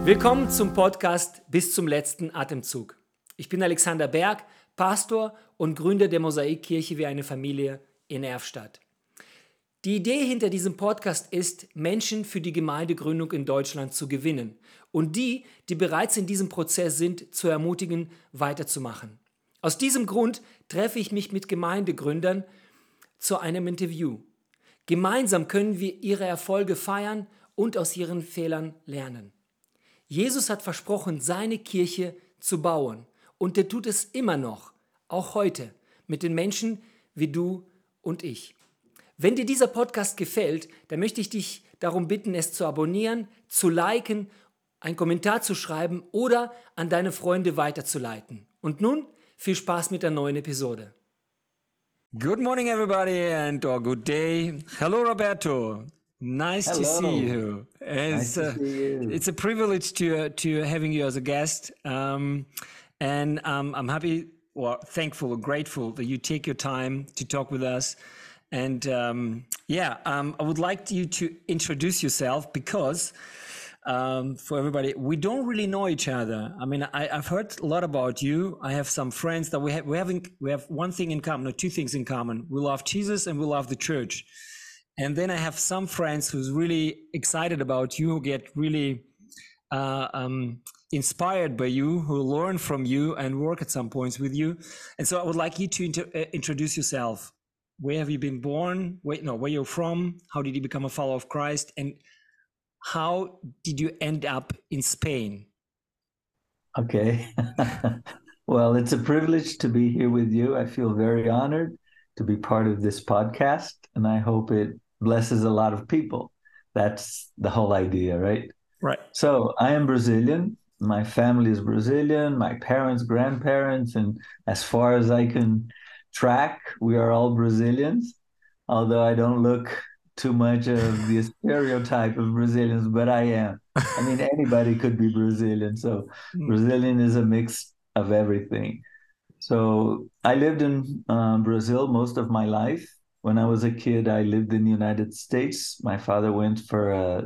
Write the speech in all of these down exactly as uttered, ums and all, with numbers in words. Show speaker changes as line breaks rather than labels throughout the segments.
Willkommen zum Podcast Bis zum letzten Atemzug. Ich bin Alexander Berg, Pastor und Gründer der Mosaikkirche wie eine Familie in Erfstadt. Die Idee hinter diesem Podcast ist, Menschen für die Gemeindegründung in Deutschland zu gewinnen und die, die bereits in diesem Prozess sind, zu ermutigen, weiterzumachen. Aus diesem Grund treffe ich mich mit Gemeindegründern zu einem Interview. Gemeinsam können wir ihre Erfolge feiern und aus ihren Fehlern lernen. Jesus hat versprochen, seine Kirche zu bauen und er tut es immer noch, auch heute, mit den Menschen wie du und ich. Wenn dir dieser Podcast gefällt, dann möchte ich dich darum bitten, es zu abonnieren, zu liken, einen Kommentar zu schreiben oder an deine Freunde weiterzuleiten. Und nun viel Spaß mit der neuen Episode. Good morning everybody and or good day. Hello Roberto. Nice
Hello.
to see you. It's,
Nice to
uh,
see you.
it's a privilege to uh, to having you as a guest, um, and um, I'm happy, or thankful, or grateful that you take your time to talk with us. And um, yeah, um, I would like you to introduce yourself because um, for everybody, we don't really know each other. I mean, I, I've heard a lot about you. I have some friends that we have we having we have one thing in common, or two things in common. We love Jesus and we love the church. And then I have some friends who's really excited about you, who get really uh, um, inspired by you, who learn from you and work at some points with you. And so I would like you to inter- uh, introduce yourself. Where have you been born? Wait, no, where you're from? How did you become a follower of Christ? And how did you end up in Spain?
Okay. Well, it's a privilege to be here with you. I feel very honored to be part of this podcast, and I hope it blesses a lot of people. That's the whole idea, right?
Right.
So I am Brazilian. My family is Brazilian, my parents, grandparents, and as far as I can track, we are all Brazilians, although I don't look too much of the stereotype of Brazilians, but I am. I mean, anybody could be Brazilian. So Brazilian is a mix of everything. So I lived in uh, Brazil most of my life. When I was a kid, I lived in the United States. My father went for a,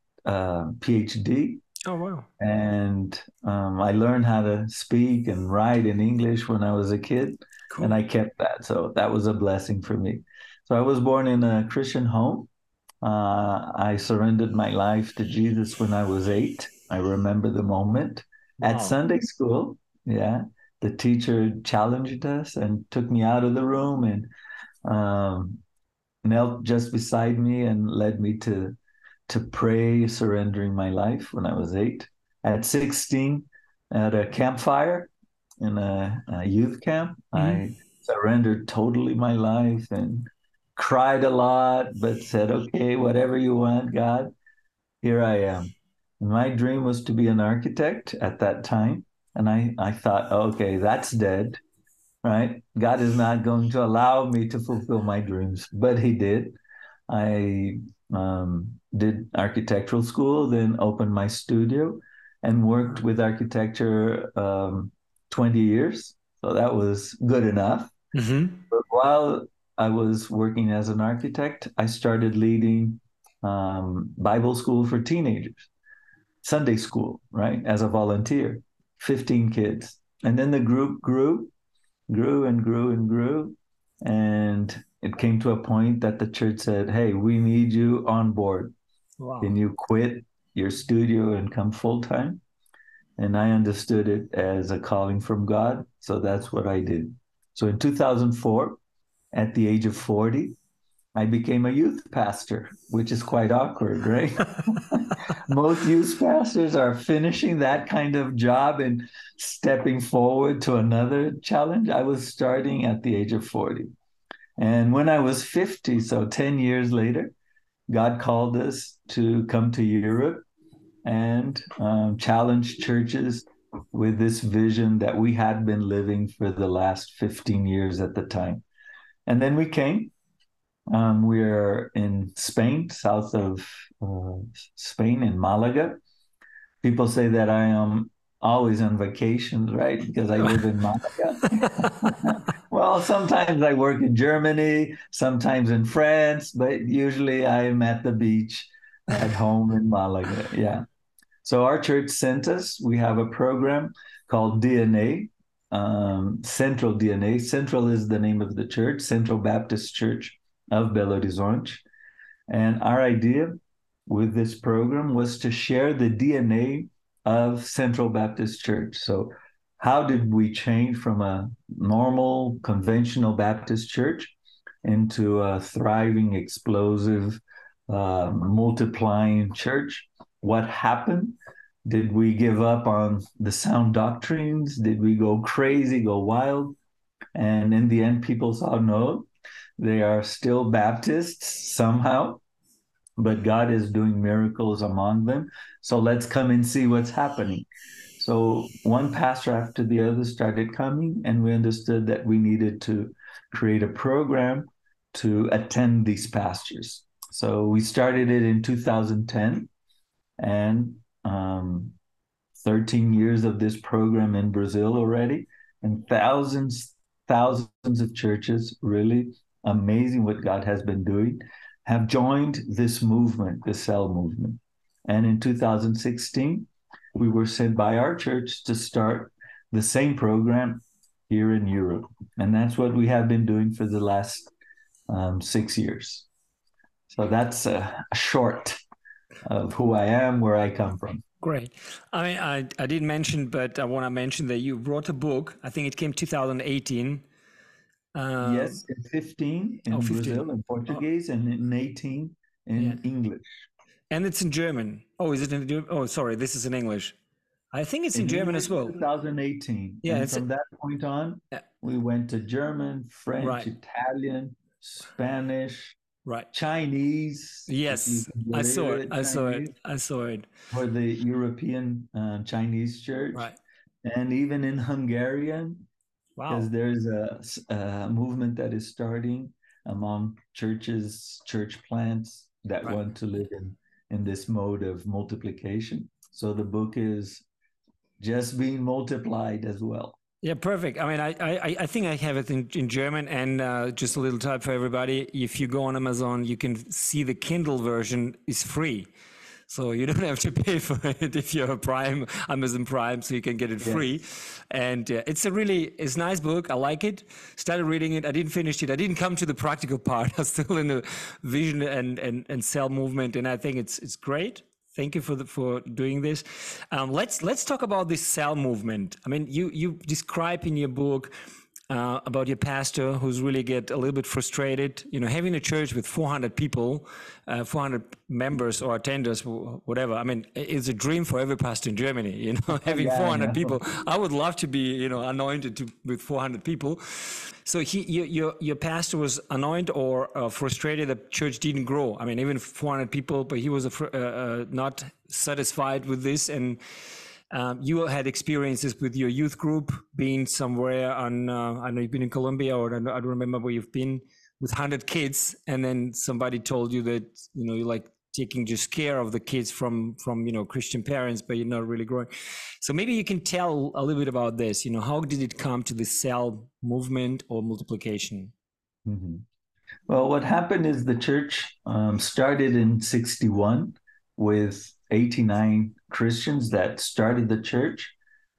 a PhD.
Oh, wow.
And um, I learned how to speak and write in English when I was a kid.
Cool.
And I kept that. So that was a blessing for me. So I was born in a Christian home. Uh, I surrendered my life to Jesus when I was eight. I remember the moment.
Wow.
At Sunday school. Yeah. The teacher challenged us and took me out of the room and um, knelt just beside me and led me to to pray, surrendering my life when I was eight. At sixteen, at a campfire in a, a youth camp, mm-hmm. I surrendered totally my life and cried a lot, but said, okay, whatever you want, God, here I am. And my dream was to be an architect at that time. And I, I thought, okay, that's dead, right? God is not going to allow me to fulfill my dreams, but he did. I um, did architectural school, then opened my studio and worked with architecture um, twenty years. So that was good enough. Mm-hmm. But while I was working as an architect, I started leading um, Bible school for teenagers, Sunday school, right, as a volunteer, fifteen kids. And then the group grew, grew and grew and grew. And it came to a point that the church said, hey, we need you on board. Wow. Can you quit your studio and come full time? And I understood it as a calling from God. So that's what I did. So in two thousand four, at the age of forty, I became a youth pastor, which is quite awkward, right? Most youth pastors are finishing that kind of job and stepping forward to another challenge. I was starting at the age of forty. And when I was fifty, so ten years later, God called us to come to Europe and um, challenge churches with this vision that we had been living for the last fifteen years at the time. And then we came. Um, we're in Spain, south of uh, Spain, in Malaga. People say that I am always on vacation, right? Because I live in Malaga. Well, sometimes I work in Germany, sometimes in France, but usually I'm at the beach at home in Malaga. Yeah. So our church sent us. We have a program called D N A, um, Central D N A. Central is the name of the church, Central Baptist Church of Belo Horizonte. And our idea with this program was to share the D N A of Central Baptist Church. So how did we change from a normal, conventional Baptist church into a thriving, explosive, uh, multiplying church? What happened? Did we give up on the sound doctrines? Did we go crazy, go wild? And in the end, people saw no, they are still Baptists somehow, but God is doing miracles among them. So let's come and see what's happening. So one pastor after the other started coming, and we understood that we needed to create a program to attend these pastors. So we started it in two thousand ten, and um, thirteen years of this program in Brazil already, and thousands, thousands of churches, really amazing what God has been doing, have joined this movement, the Cell movement. And in two thousand sixteen, we were sent by our church to start the same program here in Europe. And that's what we have been doing for the last um, six years. So that's a, a short of who I am, where I come from.
Great. I mean, I, I didn't mention, but I want to mention that you wrote a book. I think it came two thousand eighteen.
Uh, yes, in fifteen in oh, fifteen. Brazil in Portuguese, oh. and in eighteen in yeah. English.
And it's in German. Oh, is it in German? Oh, sorry, this is in English. I think it's in, in German
English
as well.
twenty eighteen. Yeah, and from a... that point on, yeah. we went to German, French, right. Italian, Spanish,
right,
Chinese.
Yes, I saw it. I saw it. I saw it.
For the European uh, Chinese church,
right,
and even in Hungarian.
Wow.
Because there's a, a movement that is starting among churches, church plants that right. want to live in, in this mode of multiplication. So the book is just being multiplied as well.
Yeah, perfect. I mean, I I, I think I have it in, in German, and uh, just a little tip for everybody. If you go on Amazon, you can see the Kindle version is free. So you don't have to pay for it if you're a Prime, Amazon Prime, so you can get it free. Yes. And uh, it's a really, it's a nice book. I like it. Started reading it. I didn't finish it. I didn't come to the practical part. I'm still in the vision and, and, and cell movement. And I think it's it's great. Thank you for the, for doing this. Um, let's let's talk about this cell movement. I mean, you you describe in your book uh, about your pastor who's really get a little bit frustrated. You know, having a church with four hundred people, uh, four hundred members or attenders, whatever. I mean, it's a dream for every pastor in Germany. You know, having yeah, four hundred people. I would love to be, you know, anointed to, with four hundred people. So he, your, your, your pastor was anointed or uh, frustrated that church didn't grow. I mean, even four hundred people, but he was uh, uh, not satisfied with this. And um, you had experiences with your youth group, being somewhere on, uh, I know you've been in Colombia, or I don't, I don't remember where you've been, with one hundred kids. And then somebody told you that, you know, you like taking just care of the kids from, from, you know, Christian parents, but you're not really growing. So maybe you can tell a little bit about this. You know, how did it come to the cell movement or multiplication?
Mm-hmm. Well, what happened is the church um, started in sixty-one with eighty-nine Christians that started the church,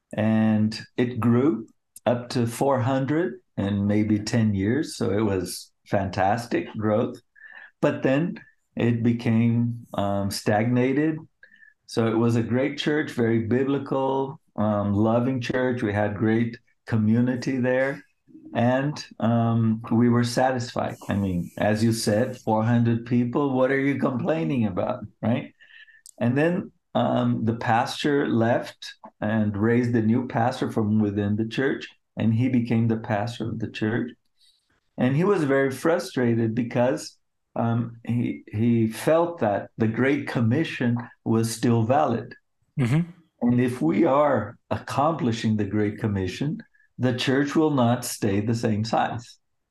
and it grew up to four hundred in maybe ten years. So it was fantastic growth. But then it became um, stagnated. So it was a great church, very biblical, um, loving church. We had great community there, and um, we were satisfied. I mean, as you said, four hundred people, what are you complaining about, right? And then um, the pastor left and raised a new pastor from within the church, and he became the pastor of the church. And he was very frustrated because Um, he he felt that the Great Commission was still valid. Mm-hmm. And if we are accomplishing the Great Commission, the church will not stay the same size,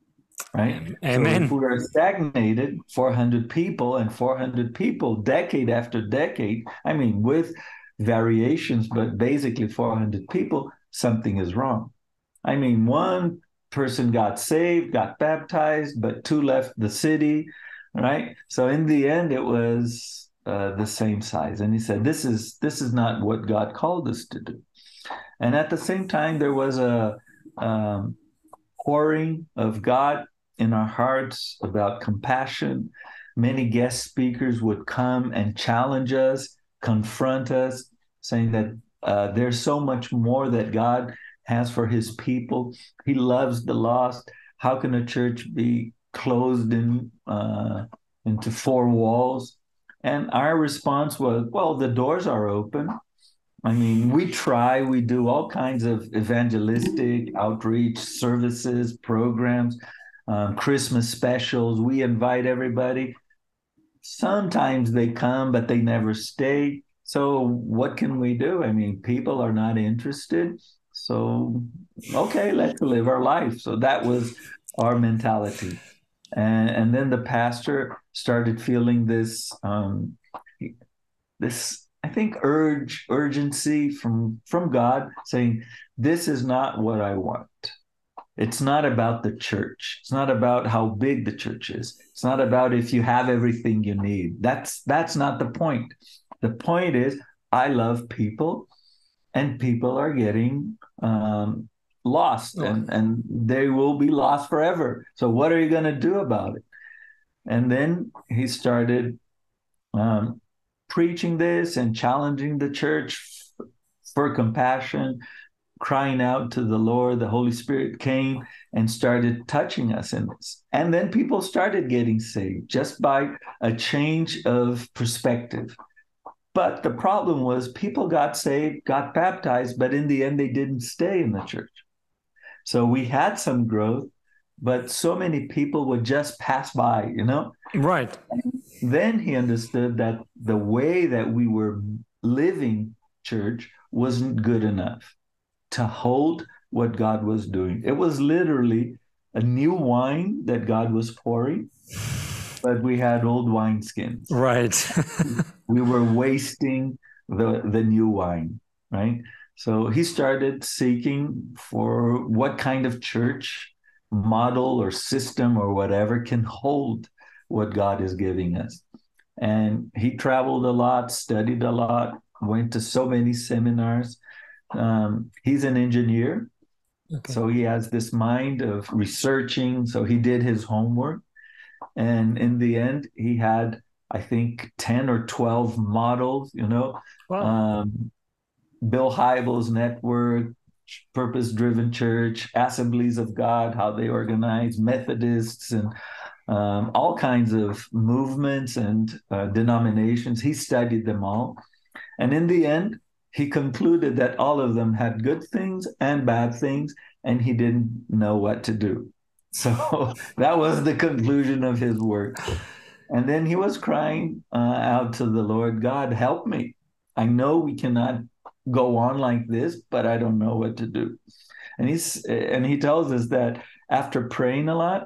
right?
Amen.
So if we are stagnated, four hundred people and four hundred people, decade after decade, I mean, with variations, but basically four hundred people, something is wrong. I mean, one person got saved, got baptized, but two left the city. Right. So in the end, it was uh, the same size. And he said, this is this is not what God called us to do. And at the same time, there was a um, pouring of God in our hearts about compassion. Many guest speakers would come and challenge us, confront us, saying that uh, there's so much more that God has for his people. He loves the lost. How can a church be closed in uh, into four walls? And our response was, well, the doors are open. I mean, we try, we do all kinds of evangelistic outreach services, programs, um, Christmas specials. We invite everybody. Sometimes they come, but they never stay. So what can we do? I mean, people are not interested. So, okay, let's live our life. So that was our mentality. And, and then the pastor started feeling this, um, this, I think, urge, urgency from, from God saying, this is not what I want. It's not about the church. It's not about how big the church is. It's not about if you have everything you need. That's, that's not the point. The point is, I love people, and people are getting um, lost, oh. and, and they will be lost forever. So what are you going to do about it? And then he started um, preaching this and challenging the church for compassion, crying out to the Lord. The Holy Spirit came and started touching us in this. And then people started getting saved just by a change of perspective. But the problem was people got saved, got baptized, but in the end, they didn't stay in the church. So we had some growth, but so many people would just pass by, you know?
Right.
And then he understood that the way that we were living church wasn't good enough to hold what God was doing. It was literally a new wine that God was pouring, but we had old wineskins.
Right.
We were wasting the, the new wine, right? So he started seeking for what kind of church model or system or whatever can hold what God is giving us. And he traveled a lot, studied a lot, went to so many seminars. Um, he's an engineer, okay. So he has this mind of researching. So he did his homework. And in the end, he had, I think, ten or twelve models, you know, wow. um, Bill Hybels Network, Purpose-Driven Church, Assemblies of God, how they organize, Methodists, and um, all kinds of movements and uh, denominations. He studied them all. And in the end, he concluded that all of them had good things and bad things, and he didn't know what to do. So that was the conclusion of his work. And then he was crying uh, out to the Lord, God, help me. I know we cannot go on like this, but I don't know what to do. And he's and he tells us that after praying a lot,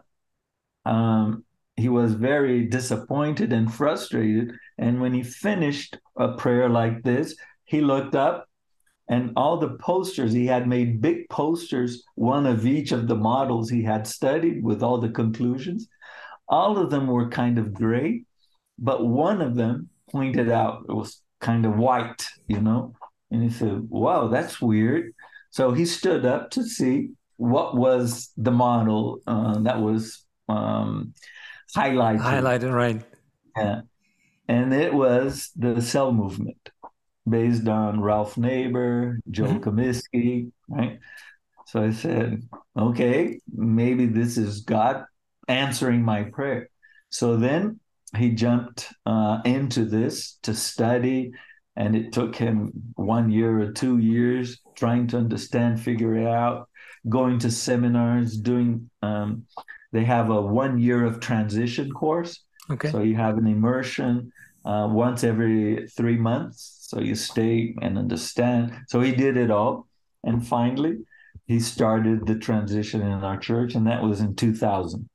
um, he was very disappointed and frustrated. And when he finished a prayer like this, he looked up, and all the posters, he had made big posters, one of each of the models he had studied with all the conclusions. All of them were kind of gray, but one of them pointed out, it was kind of white, you know? And he said, wow, that's weird. So he stood up to see what was the model uh, that was um, highlighted.
Highlighted, right.
Yeah. And it was the cell movement, based on Ralph Naber, Joel mm-hmm. Comiskey, right? So I said, okay, maybe this is God answering my prayer. So then he jumped uh, into this to study, and it took him one year or two years trying to understand, figure it out, going to seminars, doing, um, they have a one year of transition course.
Okay.
So you have an immersion uh, once every three months. So you stay and understand. So he did it all. And finally, he started the transition in our church, and that was in two thousand.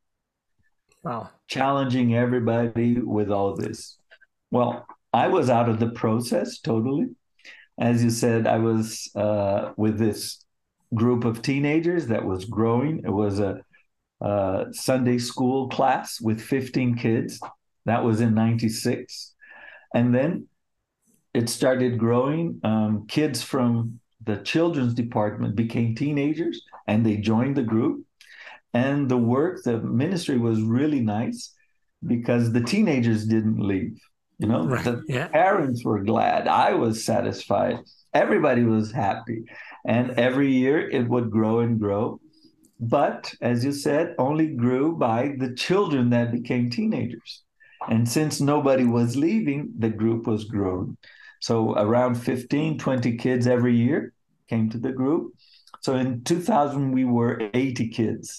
Wow.
Challenging everybody with all this. Well, I was out of the process totally. As you said, I was uh, with this group of teenagers that was growing. It was a, a Sunday school class with fifteen kids. That was in ninety-six. And then it started growing. Um, kids from the children's department became teenagers and they joined the group. And the work, the ministry was really nice because the teenagers didn't leave. You know,
Right.
the
Yeah.
parents were glad. I was satisfied. Everybody was happy. And every year it would grow and grow. But as you said, only grew by the children that became teenagers. And since nobody was leaving, the group was growing. So around fifteen, twenty kids every year came to the group. So in two thousand, we were eighty kids.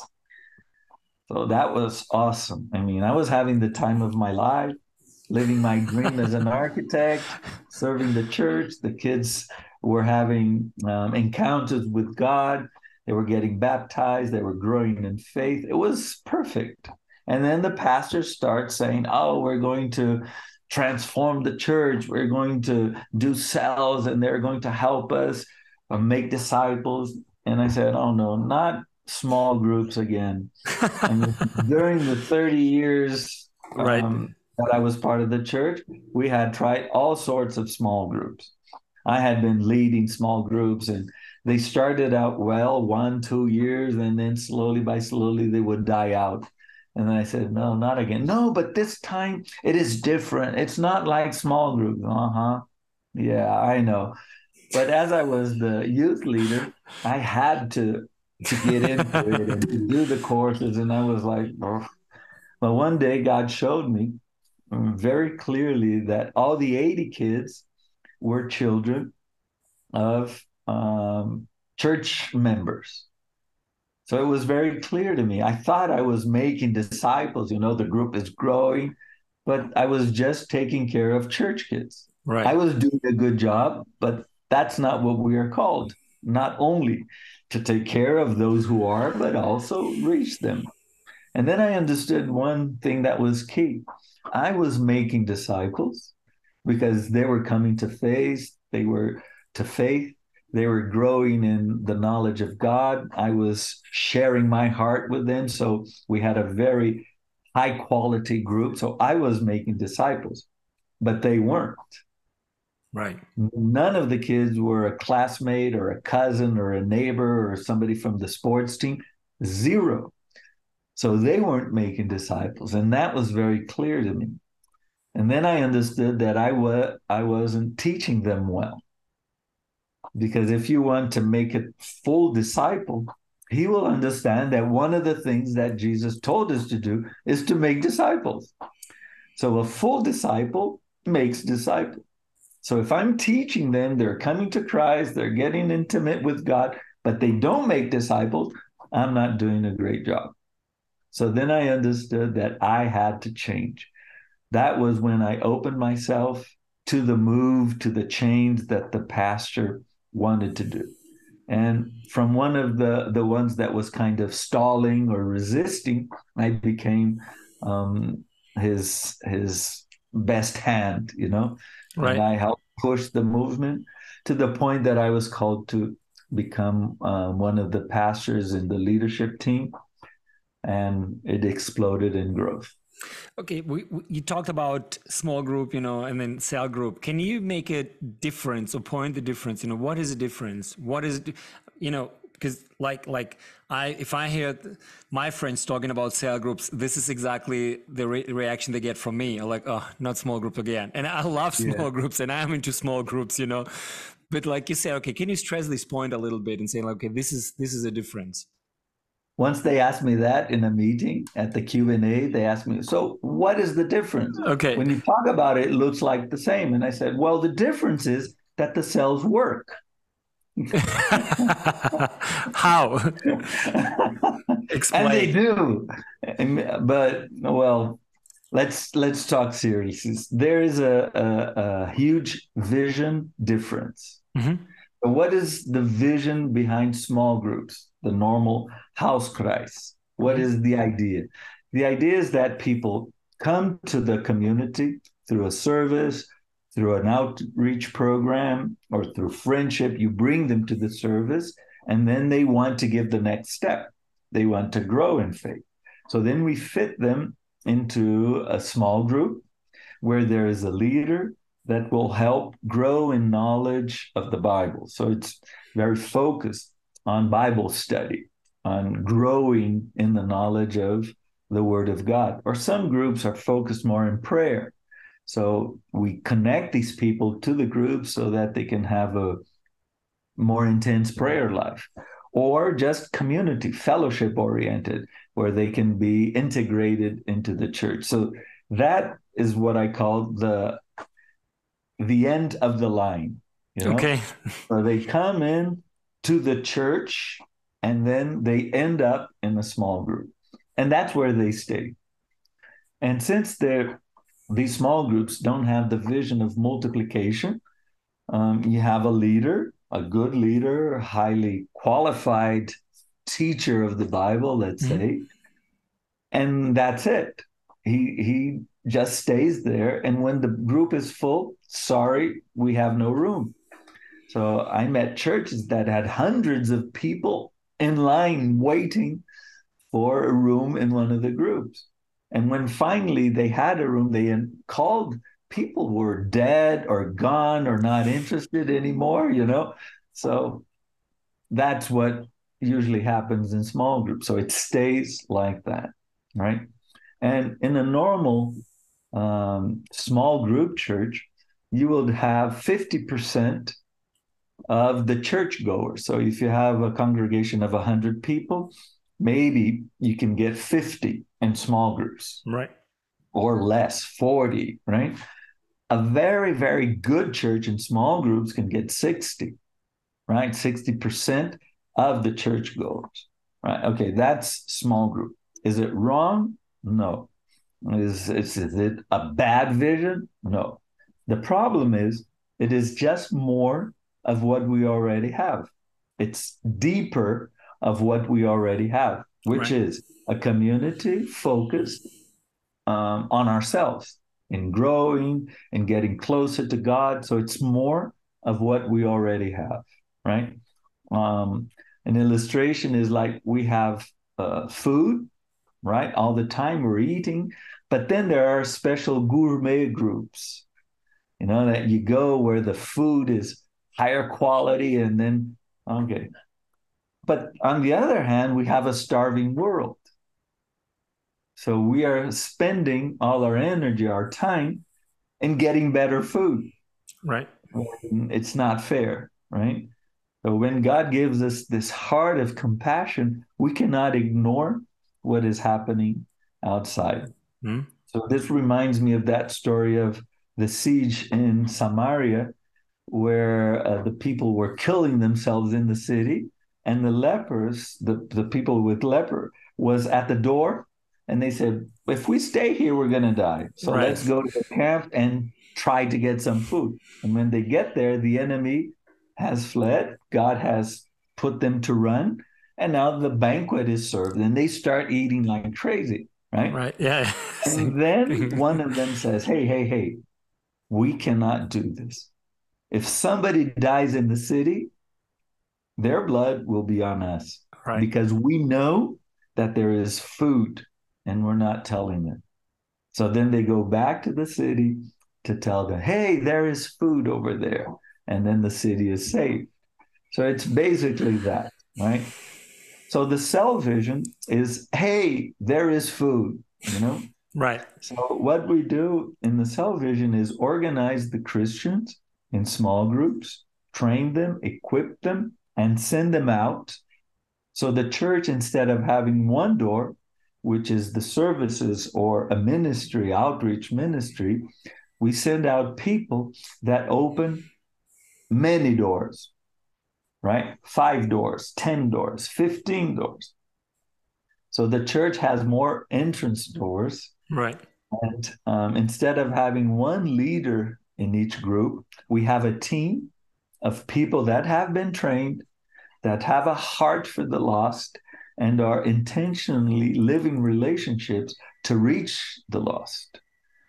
So that was awesome. I mean, I was having the time of my life, living my dream as an architect, serving the church. The kids were having um, encounters with God. They were getting baptized. They were growing in faith. It was perfect. And then the pastors start saying, oh, we're going to transform the church. We're going to do cells and they're going to help us uh, make disciples. And I said, oh, no, not small groups again. And during the thirty years
Right.
um, that I was part of the church, we had tried all sorts of small groups. I had been leading small groups and they started out well, one, two years, and then slowly by slowly they would die out. And then I said, no, not again. No, but this time it is different. It's not like small groups. Uh-huh. Yeah, I know. But as I was the youth leader, I had to to get into it and to do the courses. And I was like, oh. But one day God showed me very clearly that all the eighty kids were children of um, church members. So it was very clear to me. I thought I was making disciples, you know, the group is growing, but I was just taking care of church kids.
Right.
I was doing a good job, but that's not what we are called. Not only to take care of those who are, but also reach them. And then I understood one thing that was key. I was making disciples because they were coming to faith, they were to faith, they were growing in the knowledge of God. I was sharing my heart with them. So we had a very high quality group. So I was making disciples, but they weren't.
Right.
None of the kids were a classmate or a cousin or a neighbor or somebody from the sports team. Zero. So they weren't making disciples. And that was very clear to me. And then I understood that I, wa- I wasn't teaching them well. Because if you want to make a full disciple, he will understand that one of the things that Jesus told us to do is to make disciples. So a full disciple makes disciples. So if I'm teaching them, they're coming to Christ, they're getting intimate with God, but they don't make disciples, I'm not doing a great job. So then I understood that I had to change. That was when I opened myself to the move, to the change that the pastor wanted to do. And from one of the, the ones that was kind of stalling or resisting, I became um, his, his best hand, you know?
Right.
And I helped push the movement to the point that I was called to become uh, one of the pastors in the leadership team. And it exploded in growth.
Okay, we, we, you talked about small group, you know, and then cell group. Can you make a difference or point the difference? You know, what is the difference? What is, you know, because like like I, if I hear my friends talking about cell groups, this is exactly the re- reaction they get from me. Like, oh, not small group again. And I love small yeah. groups, and I'm into small groups, you know. But like you say, okay, can you stress this point a little bit and say, like, okay, this is this is a difference.
Once they asked me that in a meeting at the Q and A, they asked me, so what is the difference?
Okay.
When you talk about it, it looks like the same. And I said, well, the difference is that the cells work.
How? Explain.
And they do. But, well, let's let's talk seriously. There is a, a, a huge vision difference. Mm-hmm. What is the vision behind small groups, the normal Hauskreis? What mm-hmm. is the idea? The idea is that people come to the community through a service, through an outreach program, or through friendship. You bring them to the service, and then they want to give the next step. They want to grow in faith. So then we fit them into a small group where there is a leader, that will help grow in knowledge of the Bible. So it's very focused on Bible study, on growing in the knowledge of the Word of God. Or some groups are focused more in prayer. So we connect these people to the group so that they can have a more intense prayer life, or just community, fellowship oriented, where they can be integrated into the church. So that is what I call the the end of the line, you know?
Okay.
So they come in to the church and then they end up in a small group. And that's where they stay. And since they're these small groups don't have the vision of multiplication, um, you have a leader, a good leader, a highly qualified teacher of the Bible, let's
Mhm.
say, and that's it. He he just stays there, and when the group is full, sorry, we have no room. So I met churches that had hundreds of people in line waiting for a room in one of the groups. And when finally they had a room, they called people who were dead or gone or not interested anymore, you know? So that's what usually happens in small groups. So it stays like that, right? And in a normal um, small group church, you will have fifty percent of the churchgoers. So if you have a congregation of one hundred people, maybe you can get fifty in small groups
Right.
or less, forty, right? A very, very good church in small groups can get sixty, right? sixty percent of the churchgoers, right? Okay, that's small group. Is it wrong? No. Is, is, is it a bad vision? No. The problem is it is just more of what we already have. It's deeper of what we already have, which
Right.
is a community focused um, on ourselves in growing and getting closer to God. So it's more of what we already have, right? Um, an illustration is like we have uh, food, right? All the time we're eating, but then there are special gourmet groups, you know, that you go where the food is higher quality and then, okay. But on the other hand, we have a starving world. So we are spending all our energy, our time in getting better food.
Right.
It's not fair, right? So when God gives us this heart of compassion, we cannot ignore what is happening outside.
Mm.
So this reminds me of that story of the siege in Samaria, where uh, the people were killing themselves in the city, and the lepers, the, the people with leper, was at the door, and they said, if we stay here, we're going to die. So
Right.
let's go to the camp and try to get some food. And when they get there, the enemy has fled. God has put them to run. And now the banquet is served, and they start eating like crazy, right?
Right. Yeah. Same
And then
thing.
one of them says, hey, hey, hey, we cannot do this. If somebody dies in the city, their blood will be on us
Right.
because we know that there is food and we're not telling them. So then they go back to the city to tell them, hey, there is food over there. And then the city is saved. So it's basically that, right? So the cell vision is, hey, there is food, you know?
Right.
So what we do in the cell vision is organize the Christians in small groups, train them, equip them, and send them out. So the church, instead of having one door, which is the services or a ministry, outreach ministry, we send out people that open many doors, right? Five doors, ten doors, fifteen doors. So the church has more entrance doors.
Right.
And um, instead of having one leader in each group, we have a team of people that have been trained, that have a heart for the lost, and are intentionally living relationships to reach the lost.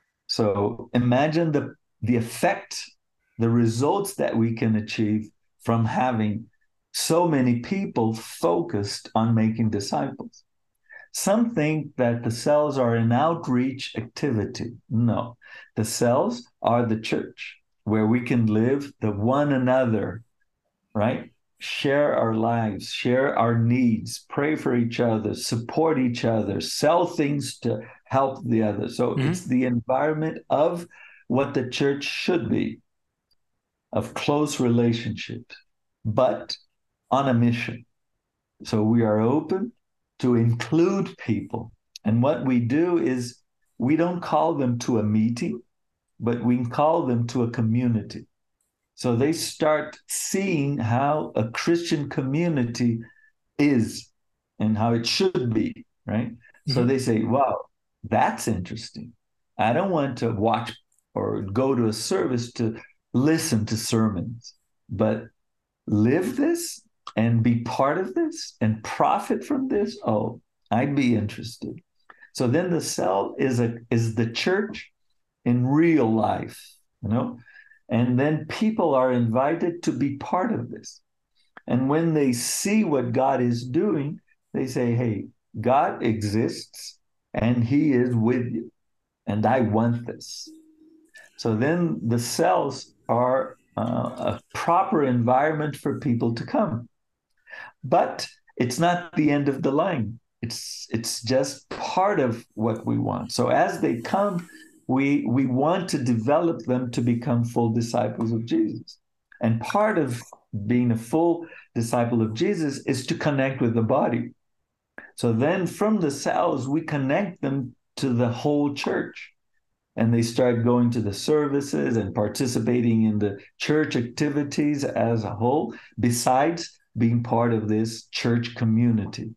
So imagine the, the effect, the results that we can achieve from having so many people focused on making disciples. Some think that the cells are an outreach activity. No, the cells are the church. where we can live the one another, right? Share our lives, share our needs, pray for each other, support each other, sell things to help the other. So
Mm-hmm.
it's the environment of what the church should be, of close relationships, but on a mission. So we are open to include people. And what we do is we don't call them to a meeting, but we call them to a community. So they start seeing how a Christian community is and how it should be, right? Mm-hmm. So they say, wow, that's interesting. I don't want to watch or go to a service to listen to sermons, but live this and be part of this and profit from this. Oh, I'd be interested. So then the cell is a is the church in real life, you know, and then people are invited to be part of this. And when they see what God is doing, they say, hey, God exists and he is with you. And I want this. So then the cells are uh, a proper environment for people to come. But it's not the end of the line. It's it's just part of what we want. So as they come, we we want to develop them to become full disciples of Jesus. And part of being a full disciple of Jesus is to connect with the body. So then from the cells, we connect them to the whole church. And they start going to the services and participating in the church activities as a whole, besides being part of this church community.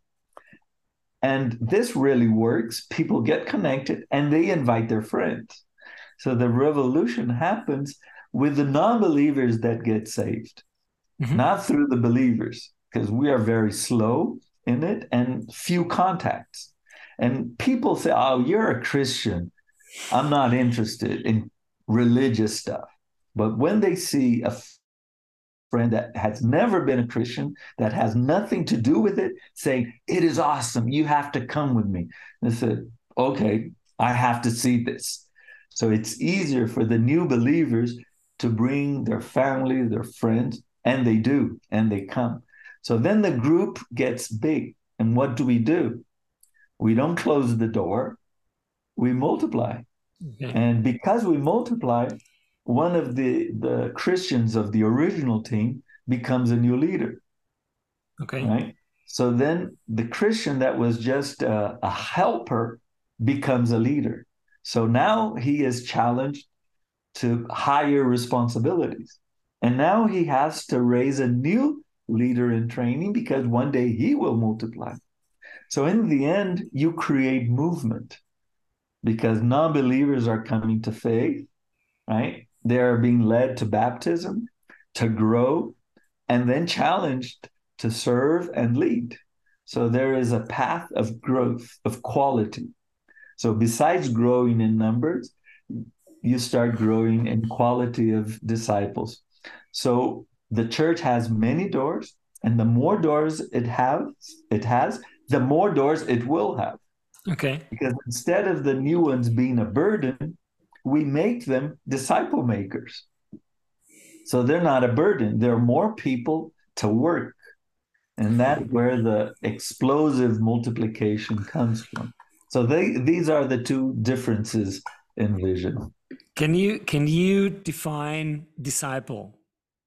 And this really works. People get connected and they invite their friends. So the revolution happens with the non-believers that get saved, mm-hmm. not through the believers, because we are very slow in it and few contacts. And people say, oh, you're a Christian. I'm not interested in religious stuff. But when they see a friend that has never been a Christian, that has nothing to do with it, saying, it is awesome, you have to come with me. They said, okay, I have to see this. So it's easier for the new believers to bring their family, their friends, and they do, and they come. So then the group gets big. And what do we do? We don't close the door. We multiply. Okay. And because we multiply, one of the, the Christians of the original team becomes a new leader.
Okay.
Right? So then the Christian that was just a, a helper becomes a leader. So now he is challenged to higher responsibilities. And now he has to raise a new leader in training because one day he will multiply. So in the end, you create movement because non-believers are coming to faith, right? They are being led to baptism, to grow, and then challenged to serve and lead. So there is a path of growth, of quality. So besides growing in numbers, you start growing in quality of disciples. So the church has many doors, and the more doors it has, it has, the more doors it will have.
Okay.
Because instead of the new ones being a burden, we make them disciple makers. So they're not a burden. There are more people to work. And that's where the explosive multiplication comes from. So they, these are the two differences in vision.
Can you, can you define disciple?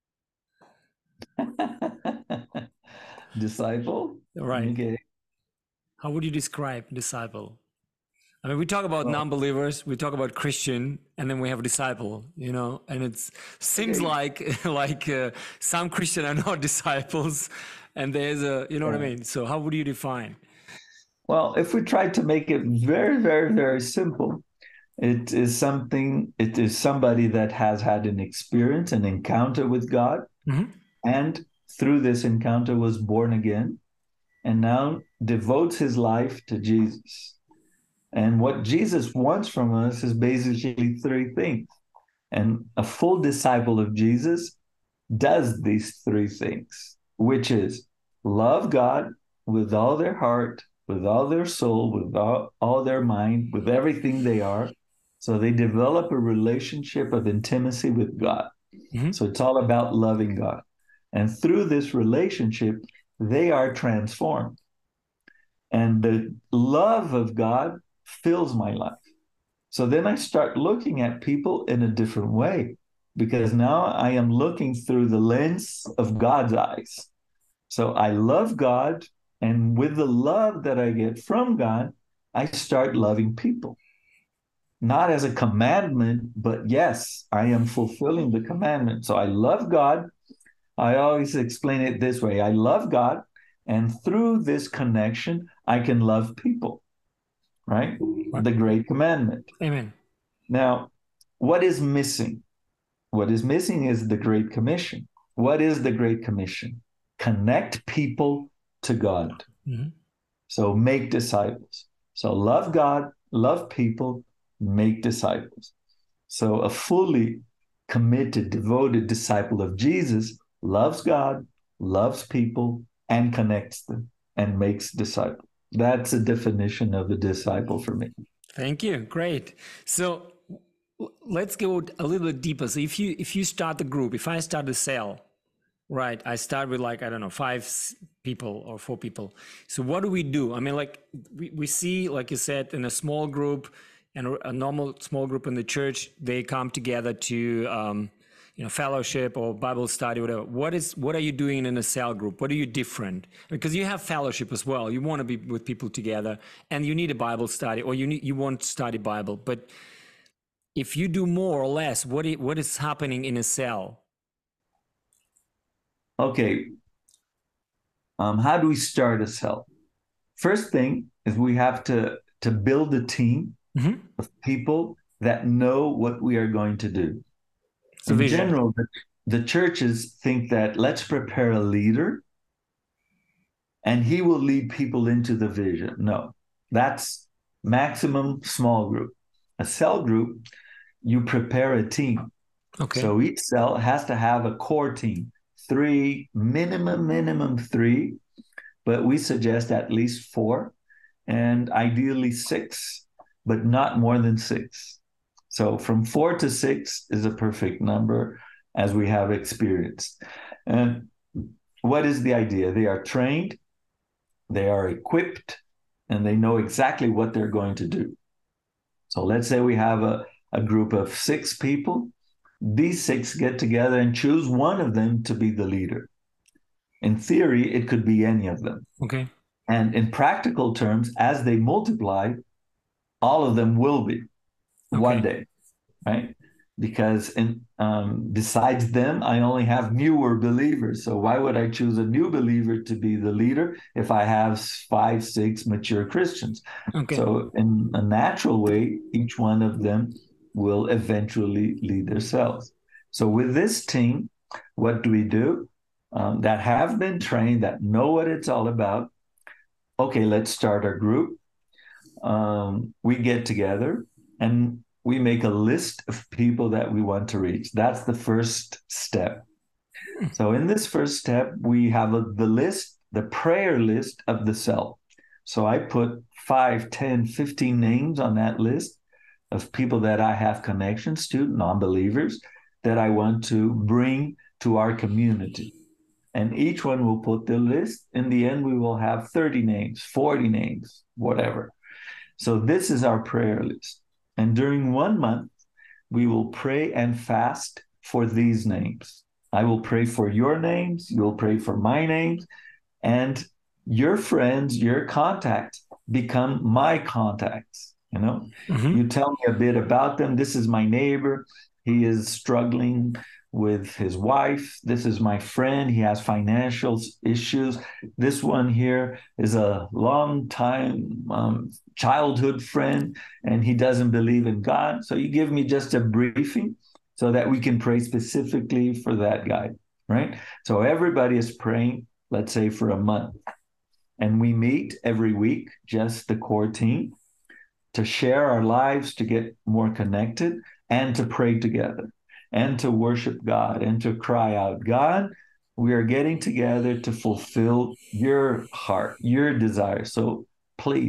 Disciple?
Right.
Okay.
How would you describe disciple? I mean, we talk about oh. non-believers, we talk about Christian, and then we have a disciple, you know, and it seems okay. like like uh, some Christian are not disciples, and there's a, you know yeah. what I mean? So how would you define?
Well, if we try to make it very, very, very simple, it is something, it is somebody that has had an experience, an encounter with God, mm-hmm. and through this encounter was born again, and now devotes his life to Jesus. And what Jesus wants from us is basically three things. And a full disciple of Jesus does these three things, which is love God with all their heart, with all their soul, with all, all their mind, with everything they are, So they develop a relationship of intimacy with God. Mm-hmm. So it's all about loving God. And through this relationship, they are transformed. And the love of God fills my life. So then I start looking at people in a different way, because now I am looking through the lens of God's eyes. So I love God, and with the love that I get from God, I start loving people. Not as a commandment, but yes, I am fulfilling the commandment. So I love God. I always explain it this way. I love God, and through this connection, I can love people, right? right? The great commandment.
Amen.
Now, what is missing? What is missing is the Great Commission. What is the Great Commission? Connect people to God. Mm-hmm. So make disciples. So love God, love people, make disciples. So a fully committed, devoted disciple of Jesus loves God, loves people, and connects them and makes disciples. That's a definition of a disciple for me.
Thank you. Great. So let's go a little bit deeper. So if you if you start the group, if I start a cell, right, I start with like, I don't know, five people or four people. So what do we do? I mean, like we, we see, like you said, in a small group and a normal small group in the church, they come together to, um, you know, fellowship or Bible study, whatever. What is, what are you doing in a cell group? What are you different? Because you have fellowship as well. You want to be with people together, and you need a Bible study, or you need, you want to study Bible. But if you do more or less, what is, what is happening in a cell?
Okay. Um, how do we start a cell? First thing is we have to, to build a team mm-hmm. of people that know what we are going to do. So in vision. general, the, the churches think that let's prepare a leader and he will lead people into the vision. No, that's maximum small group. A cell group, you prepare a team. Okay. So each cell has to have a core team. Three, minimum, minimum three, but we suggest at least four, and ideally six, but not more than six. So from four to six is a perfect number, as we have experienced. And what is the idea? They are trained, they are equipped, and they know exactly what they're going to do. So let's say we have a, a group of six people. These six get together and choose one of them to be the leader. In theory, it could be any of them.
Okay.
And in practical terms, as they multiply, all of them will be okay. one day, right? Because in, um, besides them, I only have newer believers. So why would I choose a new believer to be the leader if I have five, six mature Christians? Okay. So in a natural way, each one of them will eventually lead themselves. So with this team, what do we do? Um, that have been trained, that know what it's all about. Okay, let's start our group. Um, we get together and we make a list of people that we want to reach. That's the first step. So in this first step, we have a, the list, the prayer list of the cell. So I put five, ten, fifteen names on that list of people that I have connections to, non-believers, that I want to bring to our community. And each one will put the list. In the end, we will have thirty names, forty names, whatever. So this is our prayer list. And during one month, we will pray and fast for these names. I will pray for your names, you'll pray for my names, and your friends, your contacts become my contacts. You know, mm-hmm. You tell me a bit about them. This is my neighbor. He is struggling with his wife. This is my friend. He has financial issues. This one here is a long time um, childhood friend, and he doesn't believe in God. So you give me just a briefing so that we can pray specifically for that guy, right? So everybody is praying, let's say, for a month. And we meet every week, just the core team, to share our lives, to get more connected, and to pray together, and to worship God, and to cry out, God, we are getting together to fulfill your heart, your desire. So please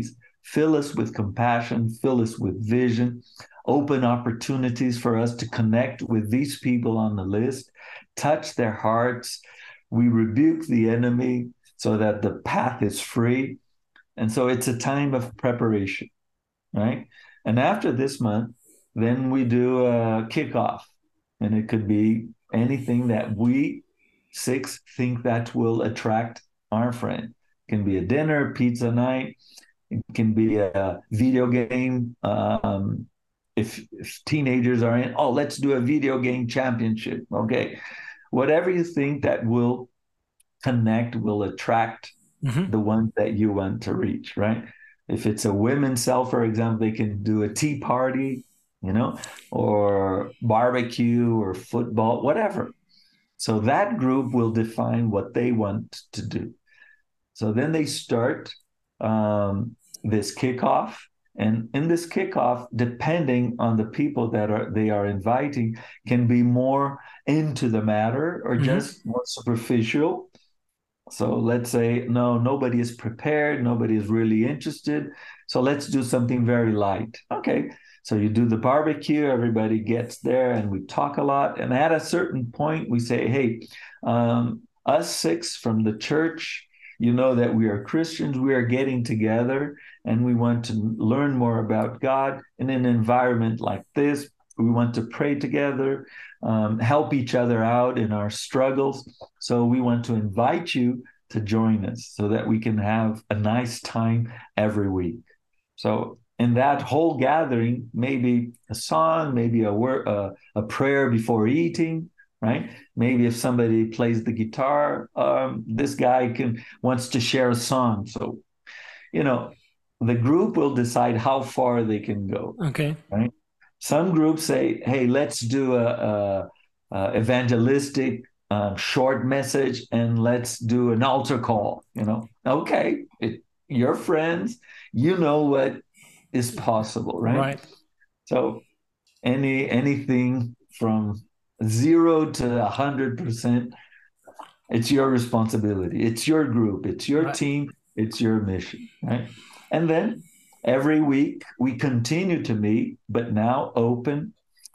fill us with compassion, fill us with vision, open opportunities for us to connect with these people on the list, touch their hearts. We rebuke the enemy so that the path is free. And so it's a time of preparation, right? And after this month, then we do a kickoff. And it could be anything that we six think that will attract our friend. It can be a dinner, pizza night. It can be a video game. Um, if, if teenagers are in, oh, let's do a video game championship. Okay. Whatever you think that will connect, will attract mm-hmm. the ones that you want to reach, right? If it's a women's cell, for example, they can do a tea party, you know, or barbecue or football, whatever. So that group will define what they want to do. So then they start um, this kickoff. And in this kickoff, depending on the people that are they are inviting, can be more into the matter or mm-hmm. just more superficial. So let's say, no, nobody is prepared. Nobody is really interested. So let's do something very light. Okay. So you do the barbecue, everybody gets there and we talk a lot. And at a certain point, we say, hey, um, us six from the church, you know that we are Christians, we are getting together and we want to learn more about God in an environment like this. We want to pray together, um, help each other out in our struggles. So we want to invite you to join us so that we can have a nice time every week. So in that whole gathering, maybe a song, maybe a word, uh, a prayer before eating, right? Maybe if somebody plays the guitar, um, this guy can wants to share a song. So, you know, the group will decide how far they can go.
Okay.
Right. Some groups say, hey, let's do a, a, a evangelistic um, short message and let's do an altar call, you know. Okay, it, your friends, you know what is possible, right?
Right.
So any anything from zero to a hundred percent, it's your responsibility. It's your group. It's your right. team. It's your mission, right? And then every week we continue to meet, but now open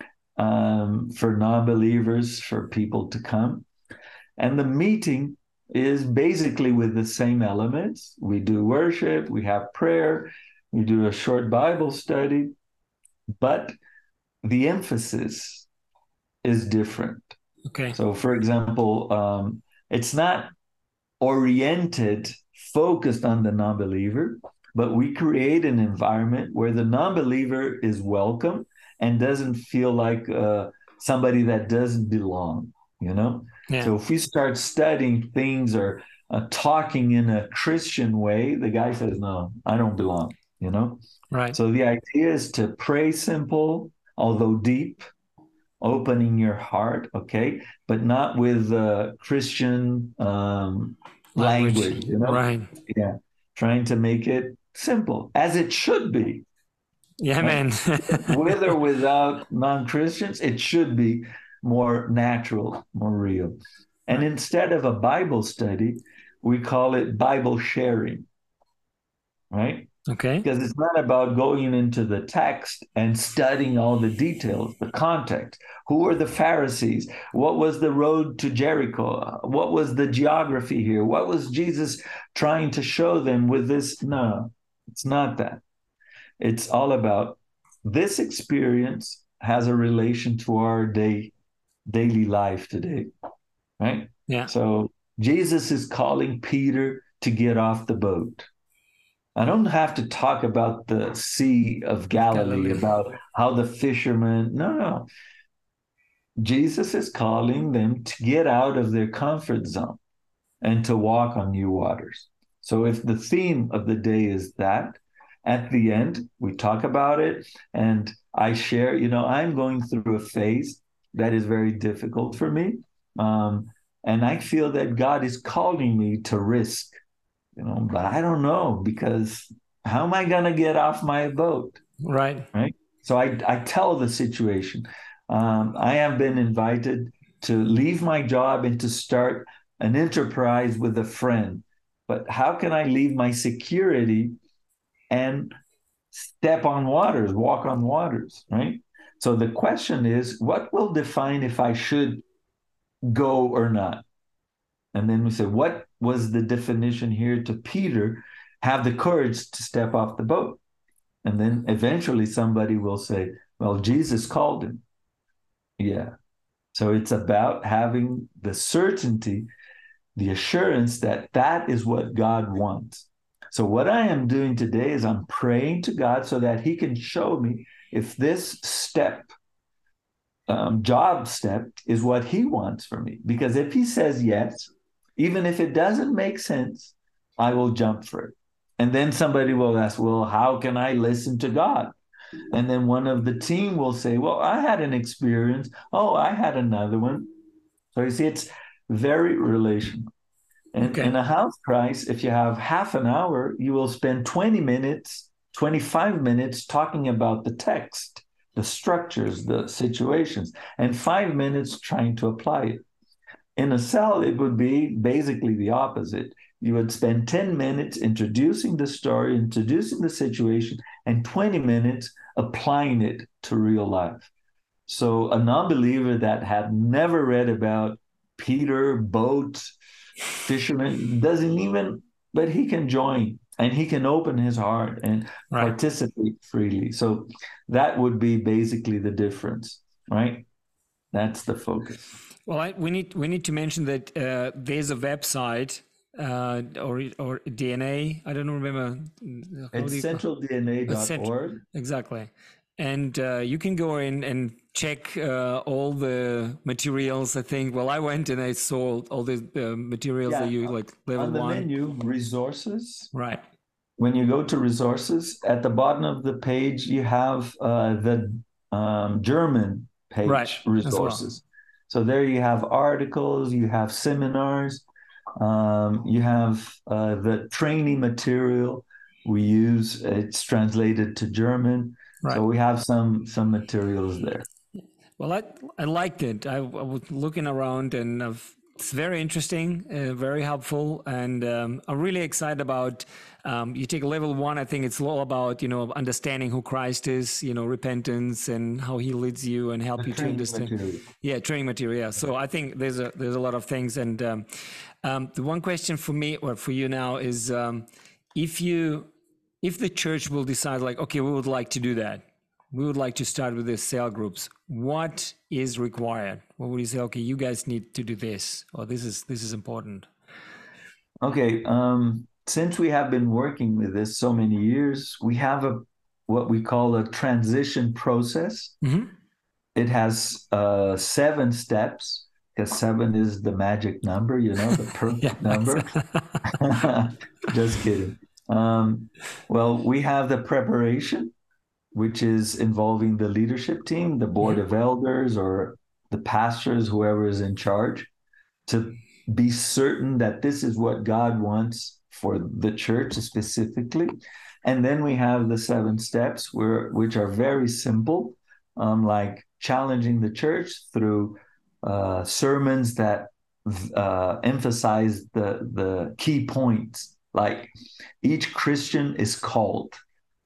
um, for non-believers, for people to come. And the meeting is basically with the same elements. We do worship, we have prayer, we do a short Bible study, but the emphasis is different.
Okay.
So, for example, um, it's not oriented, focused on the non-believer, but we create an environment where the non-believer is welcome and doesn't feel like uh, somebody that doesn't belong, you know?
Yeah.
So if we start studying things or uh, talking in a Christian way, the guy says, no, I don't belong, you know?
Right.
So the idea is to pray simple, although deep, opening your heart, okay? But not with uh, Christian um, language. language, you know?
Right.
Yeah. Trying to make it simple, as it should be.
Yeah, right? Man.
With or without non-Christians, it should be more natural, more real. And right. instead of a Bible study, we call it Bible sharing, right?
Okay.
Because it's not about going into the text and studying all the details, the context. Who were the Pharisees? What was the road to Jericho? What was the geography here? What was Jesus trying to show them with this? No, it's not that. It's all about this experience has a relation to our day, daily life today, right?
Yeah.
So Jesus is calling Peter to get off the boat. I don't have to talk about the Sea of Galilee, Galilee. about how the fishermen, no, no. Jesus is calling them to get out of their comfort zone and to walk on new waters. So if the theme of the day is that, at the end, we talk about it and I share, you know, I'm going through a phase that is very difficult for me. Um, and I feel that God is calling me to risk. You know, but I don't know, because how am I going to get off my boat?
Right.
Right. So I, I tell the situation. Um, I have been invited to leave my job and to start an enterprise with a friend. But how can I leave my security and step on waters, walk on waters, right? So the question is, what will define if I should go or not? And then we say, what was the definition here to Peter? Have the courage to step off the boat. And then eventually somebody will say, well, Jesus called him. Yeah. So it's about having the certainty, the assurance that that is what God wants. So what I am doing today is I'm praying to God so that he can show me if this step, um, job step, is what he wants for me. Because if he says yes, even if it doesn't make sense, I will jump for it. And then somebody will ask, well, how can I listen to God? And then one of the team will say, well, I had an experience. Oh, I had another one. So you see, it's very relational. And
Okay.
in a house Christ, if you have half an hour, you will spend twenty minutes, twenty-five minutes talking about the text, the structures, the situations, and five minutes trying to apply it. In a cell, it would be basically the opposite. You would spend ten minutes introducing the story, introducing the situation, and twenty minutes applying it to real life. So a non-believer that had never read about Peter, boat, fisherman, doesn't even, but he can join and he can open his heart and
Right.
participate freely. So that would be basically the difference, right? That's the focus.
Well, I, we need we need to mention that uh, there's a website uh, or or D N A. I don't remember.
It's central D N A dot org.
Exactly, and uh, you can go in and check uh, all the materials. I think. Well, I went and I saw all the uh, materials
Yeah,
that you like level
on the
one.
menu, resources.
Right.
When you go to resources, at the bottom of the page, you have uh, the um, German page,
right.
resources. Well. So there you have articles, you have seminars, um, you have uh, the training material we use. It's translated to German. Right. So we have some some materials there.
Well, I I liked it. I, I was looking around and I've, it's very interesting, uh, very helpful, and um, I'm really excited about. Um, you take level one. I think it's all about you know understanding who Christ is, you know, repentance and how He leads you and help
the
you to understand.
Material.
Yeah, training material. Yeah. So I think there's a there's a lot of things, and um, um, the one question for me or for you now is um, if you if the church will decide like, okay, we would like to do that. We would like to start with the cell groups. What is required? What would you say? Okay, you guys need to do this, or this is this is important.
Okay, um, since we have been working with this so many years, we have a what we call a transition process. Mm-hmm. It has uh, seven steps because seven is the magic number, you know, the perfect yeah, number. Just kidding. Um, well, we have the preparation, which is involving the leadership team, the board mm-hmm. of elders, or the pastors, whoever is in charge, to be certain that this is what God wants for the church specifically. And then we have the seven steps, where, which are very simple, um, like challenging the church through uh, sermons that uh, emphasize the, the key points. Like each Christian is called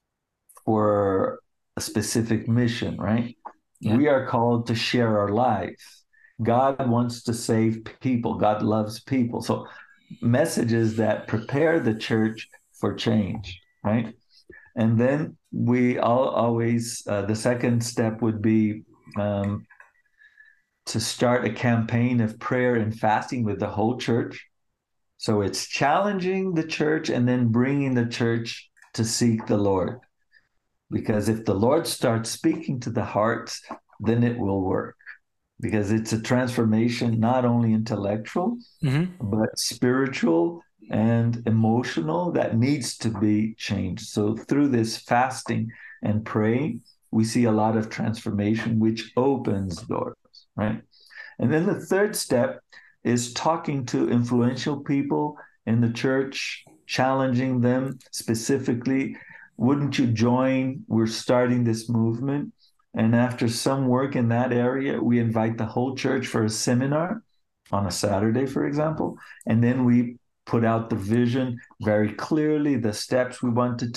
for a specific mission, right? Yeah. We are called to share our life. God wants to save people. God loves people. So messages that prepare the church for change, right? And then we all always, uh, the second step would be um, to start a campaign of prayer and fasting with the whole church. So it's challenging the church and then bringing the church to seek the Lord. Because if the Lord starts speaking to the hearts, then it will work. Because it's a transformation, not only intellectual, mm-hmm. but spiritual and emotional that needs to be changed. So through this fasting and praying, we see a lot of transformation, which opens doors, right? And then the third step is talking to influential people in the church, challenging them specifically. Wouldn't you join? We're starting this movement. And after some work in that area, we invite the whole church for a seminar on a Saturday, for example. And then we put out the vision very clearly, the steps we want to take.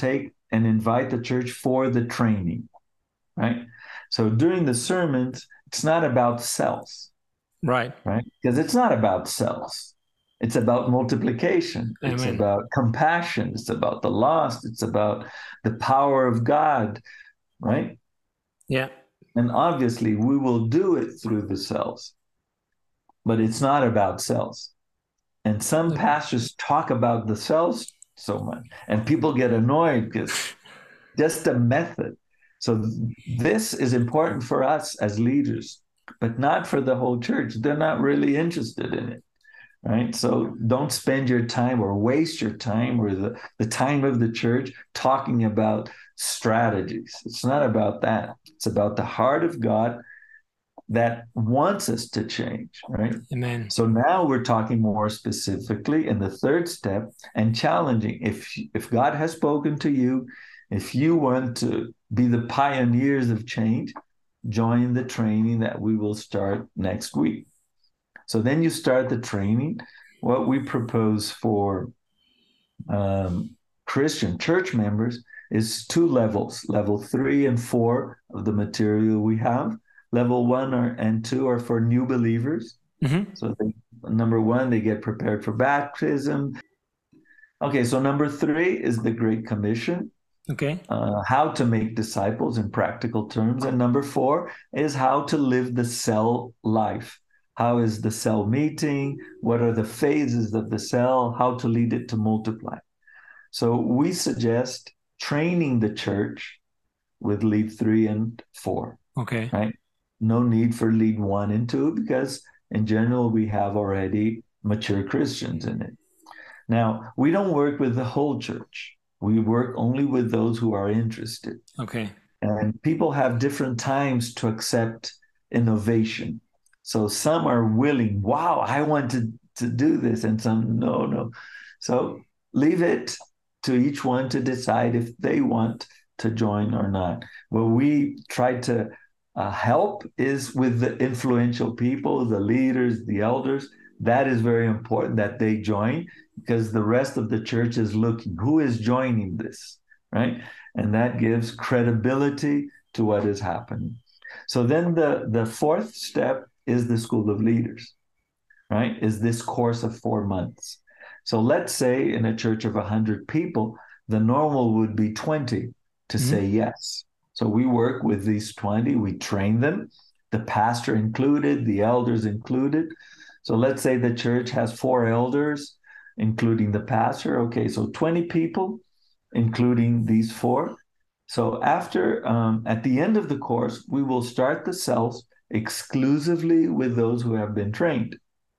and invite the church for the training, right? So during the sermons, it's not about cells,
Right.
right? Because it's not about cells. It's about multiplication.
Amen.
It's about compassion. It's about the lost. It's about the power of God, right?
Yeah.
And obviously, we will do it through the cells, but it's not about cells. And some
Okay.
pastors talk about the cells so much, and people get annoyed because just a method. So this is important for us as leaders, but not for the whole church. They're not really interested in it, right? So don't spend your time or waste your time or the, the time of the church talking about strategies. It's not about that. It's about the heart of God that wants us to change, right?
Amen.
So now we're talking more specifically in the third step and challenging. If if God has spoken to you, if you want to be the pioneers of change, join the training that we will start next week. So then you start the training. What we propose for um, Christian church members is two levels, level three and four of the material we have. Level one are, and two are for new believers.
Mm-hmm.
So they, number one, they get prepared for baptism. Okay, so number three is the Great Commission,
Okay.
uh, how to make disciples in practical terms. And number four is how to live the cell life. How is the cell meeting? What are the phases of the cell? How to lead it to multiply? So we suggest training the church with lead three and four,
Okay.
right? No need for lead one and two because in general, we have already mature Christians in it. Now, we don't work with the whole church. We work only with those who are interested.
Okay.
And people have different times to accept innovation. So some are willing, wow, I want to, to do this. And some, no, no. So leave it to each one to decide if they want to join or not. What we try to uh, help is with the influential people, the leaders, the elders. That is very important that they join because the rest of the church is looking, who is joining this, right? And that gives credibility to what is happening. So then the, the fourth step is the School of Leaders, right? Is this course of four months. So let's say in a church of one hundred people, the normal would be twenty to mm-hmm. say yes. So we work with these twenty, we train them, the pastor included, the elders included. So let's say the church has four elders, including the pastor. Okay, so twenty people, including these four. So after, um, at the end of the course, we will start the cells exclusively with those who have been trained.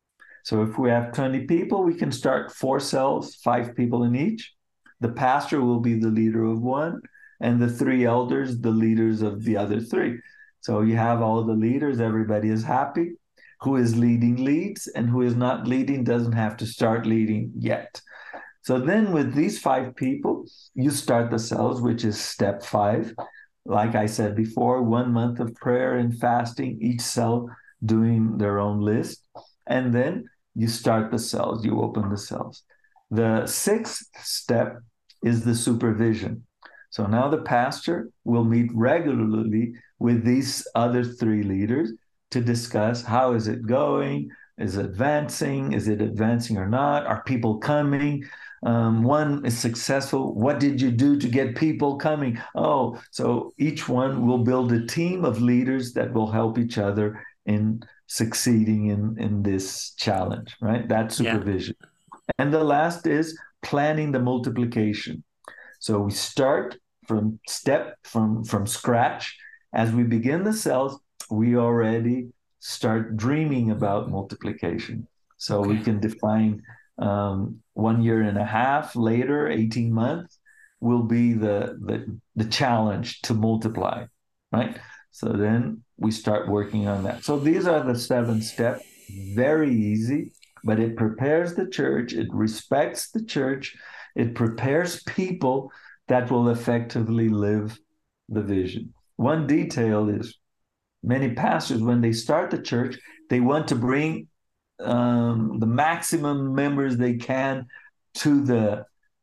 So if we have twenty people, we can start four cells, five people in each. The pastor will be the leader of one, and the three elders, the leaders of the other three. So you have all the leaders, everybody is happy. Who is leading leads, and who is not leading doesn't have to start leading yet. So then with these five people, you start the cells, which is step five. Like I said before, one month of prayer and fasting, each cell doing their own list. And then you start the cells, you open the cells. The sixth step is the supervision. So now the pastor will meet regularly with these other three leaders to discuss how is it going, is it advancing, is it advancing or not, are people coming? Um, one is successful. What did you do to get people coming? Oh, so each one will build a team of leaders that will help each other in succeeding in, in this challenge, right? That's supervision. Yeah. And the last is planning the multiplication. So we start from step, from, from scratch. As we begin the cells, we already start dreaming about multiplication. So okay. we can define um, one year and a half later, eighteen months, will be the, the, the challenge to multiply, right? So then we start working on that. So these are the seven steps, very easy, but it prepares the church, it respects the church, it prepares people that will effectively live the vision. One detail is many pastors, when they start the church, they want to bring um, the maximum members they can to the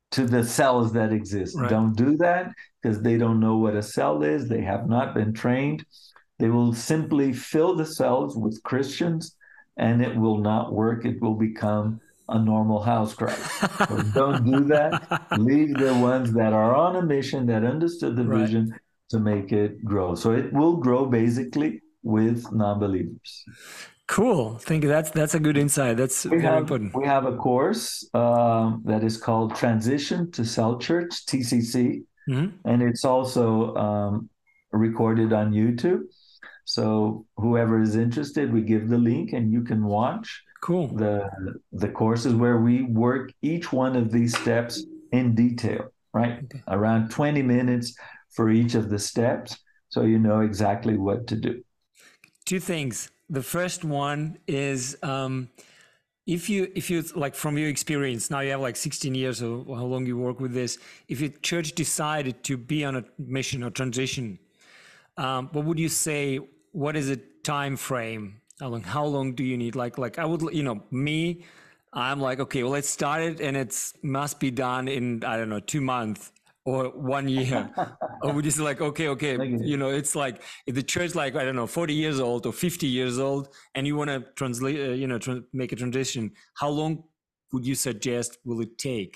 to the cells that exist.
Right.
Don't do that because they don't know what a cell is. They have not been trained. They will simply fill the cells with Christians and it will not work. It will become a normal house crowd. So don't do that. Leave the ones that are on a mission, that understood the
Right.
vision to make it grow. So it will grow basically with non-believers.
Cool. Thank you. That's that's a good insight. That's
We
very
have,
important.
we have a course um, that is called Transition to Cell Church, T C C,
Mm-hmm.
and it's also um, recorded on YouTube. So whoever is interested, we give the link and you can watch
Cool.
the the courses where we work each one of these steps in detail, right?
Okay.
Around twenty minutes for each of the steps, so you know exactly what to do.
Two things. The first one is um, if you if you like from your experience now, you have like sixteen years or how long you work with this. If your church decided to be on a mission or transition, um, what would you say? What is a time frame? How long, how long do you need? Like like I would, you know, me, I'm like, okay, well, let's start it, and it's must be done in, I don't know, two months or one year. Or would you say like, okay, okay,
Okay.
you know, it's like if the church, like, I don't know, forty years old or fifty years old, and you want to translate, uh, you know, tr- make a transition, how long would you suggest will it take?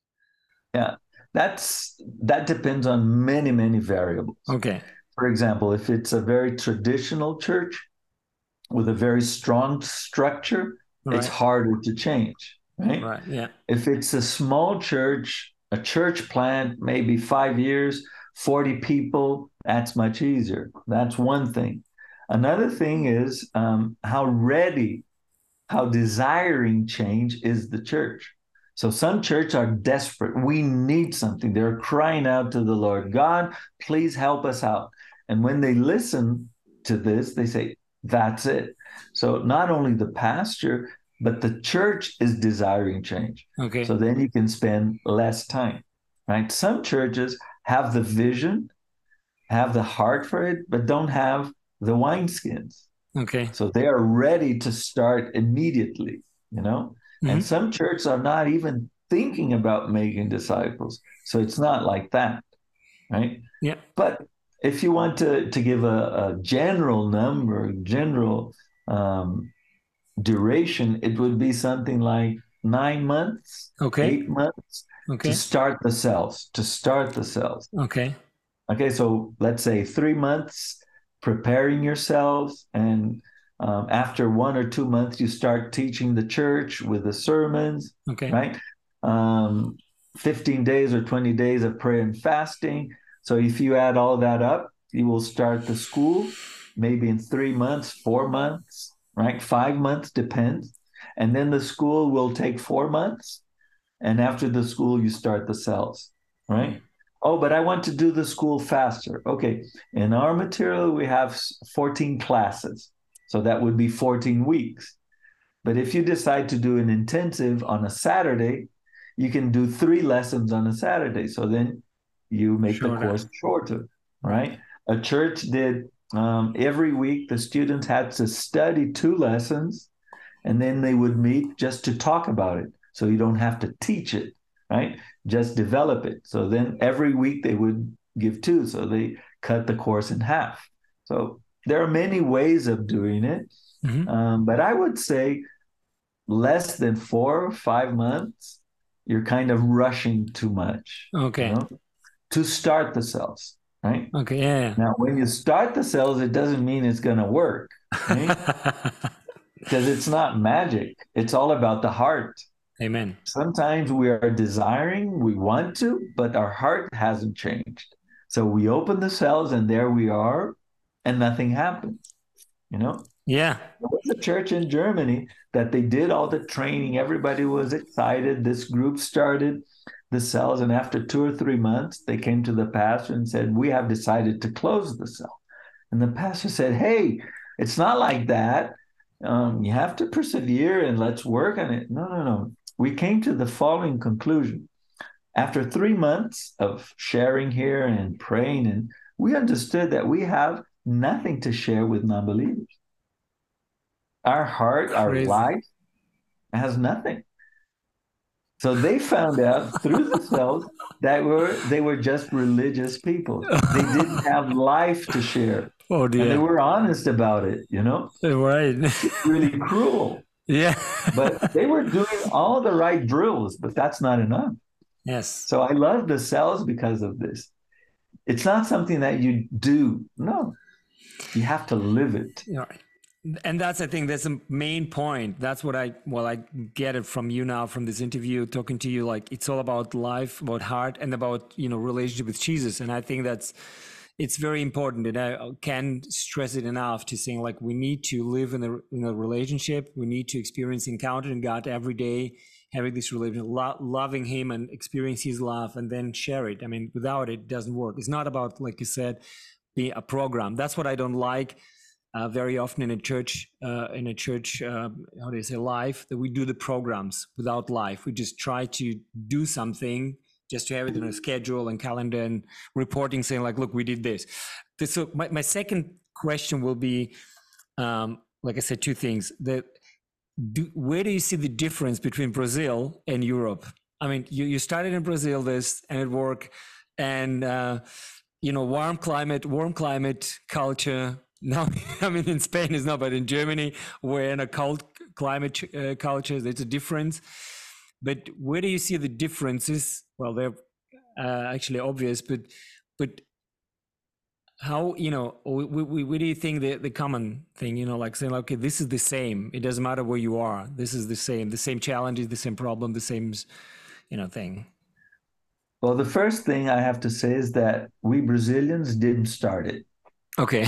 Yeah, that's that depends on many, many variables.
Okay.
For example, if it's a very traditional church with a very strong structure, it's
Right.
harder to change, right?
Right. Yeah.
If it's a small church, a church plant, maybe five years, forty people, that's much easier. That's one thing. Another thing is um, how ready, how desiring change is the church. So some churches are desperate. We need something. They're crying out to the Lord, God, please help us out. And when they listen to this, they say, that's it. So not only the pastor, but the church is desiring change.
Okay.
So then you can spend less time, right? Some churches have the vision, have the heart for it, but don't have the wineskins.
Okay.
So they are ready to start immediately, you know?
Mm-hmm.
And some churches are not even thinking about making disciples. So it's not like that, right?
Yeah.
But if you want to, to give a, a general number, general um, duration, it would be something like nine months,
Okay.
eight months
Okay.
to start the cells, to start the cells.
Okay.
Okay, so let's say three months preparing yourselves, and um, after one or two months, you start teaching the church with the sermons,
Okay.
right? Um, fifteen days or twenty days of prayer and fasting. So if you add all that up, you will start the school maybe in three months, four months, right? Five months, depends. And then the school will take four months. And after the school, you start the cells, right? Oh, but I want to do the school faster. Okay. In our material, we have fourteen classes. So that would be fourteen weeks. But if you decide to do an intensive on a Saturday, you can do three lessons on a Saturday. So then you make
Shorter.
the course shorter, right? A church did um, every week, the students had to study two lessons and then they would meet just to talk about it. So you don't have to teach it, right? Just develop it. So then every week they would give two. So they cut the course in half. So there are many ways of doing it.
Mm-hmm.
Um, but I would say less than four or five months, you're kind of rushing too much.
Okay.
You know, to start the cells, right?
Okay. Yeah. yeah.
Now, when you start the cells, it doesn't mean it's going to work, right? Because it's not magic. It's all about the heart.
Amen.
Sometimes we are desiring, we want to, but our heart hasn't changed. So we open the cells and there we are, and nothing happens. You know?
Yeah.
There was a church in Germany that they did all the training. Everybody was excited. This group started the cells, and after two or three months, they came to the pastor and said, we have decided to close the cell. And the pastor said, hey, it's not like that. Um, you have to persevere and let's work on it. No, no, no. We came to the following conclusion. After three months of sharing here and praying, and we understood that we have nothing to share with non-believers. Our heart,
Crazy.
our life has nothing. So they found out through the cells that were they were just religious people. They didn't have life to share.
Oh
And they
dear.
were honest about it, you know?
Right.
Really cruel.
Yeah.
But they were doing all the right drills, but that's not enough.
Yes.
So I love the cells because of this. It's not something that you do. No, you have to live it.
Yeah. And that's, I think that's the main point. That's what I, well, I get it from you now, from this interview, talking to you, like it's all about life, about heart, and about, you know, relationship with Jesus. And I think that's, it's very important, and I can't stress it enough to saying like we need to live in a, in a relationship. We need to experience encountering God every day, having this relationship, lo- loving Him and experience His love, and then share it. I mean, without it, it doesn't work. It's not about, like you said, be a program. That's what I don't like uh, very often in a church, uh, in a church, uh, how do you say, life, that we do the programs without life. We just try to do something just to have it in a schedule and calendar and reporting saying like, look, we did this. this so my, my second question will be, um, like I said, two things. The, do, where do you see the difference between Brazil and Europe? I mean, you, you started in Brazil this and it worked, and, uh, you know, warm climate, warm climate culture. Now, I mean, in Spain is not, but in Germany, we're in a cold climate uh, culture. There's a difference. But where do you see the differences? Well, they're uh, actually obvious, but but how, you know, where do you think the, the common thing, you know, like saying, okay, this is the same. It doesn't matter where you are. This is the same, the same challenges, the same problem, the same, you know, thing.
Well, the first thing I have to say is that we Brazilians didn't start it.
Okay.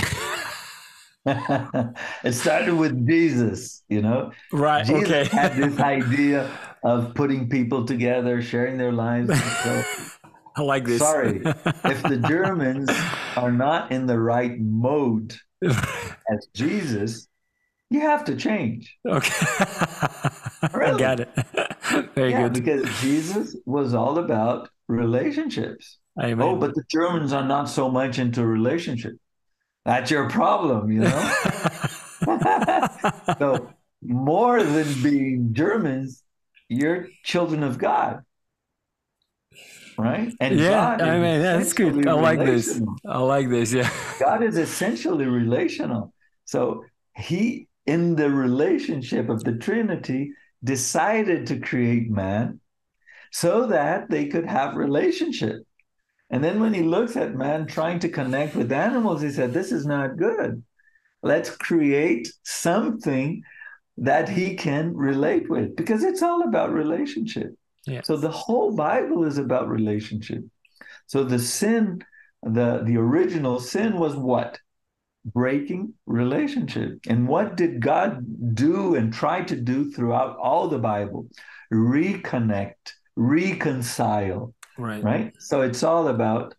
It started with Jesus, you know.
Right.
Jesus
Okay.
had this idea of putting people together, sharing their lives. So,
I like this.
sorry, if the Germans are not in the right mode as Jesus, you have to change.
Okay.
Really?
I got it. Very
yeah,
good.
Because Jesus was all about relationships.
Amen.
Oh, but the Germans are not so much into relationships. That's your problem, you know? So more than being Germans, you're children of God, right? And
yeah,
God
I mean, yeah, that's good. I like this. I like this, yeah.
God is essentially relational. So he, in the relationship of the Trinity, decided to create man so that they could have relationship. And then when he looks at man trying to connect with animals, he said, this is not good. Let's create something that he can relate with, because it's all about relationship. Yeah. So the whole Bible is about relationship. So the sin, the, the original sin was what? Breaking relationship. And what did God do and try to do throughout all the Bible? Reconnect, reconcile. Right. Right. So it's all about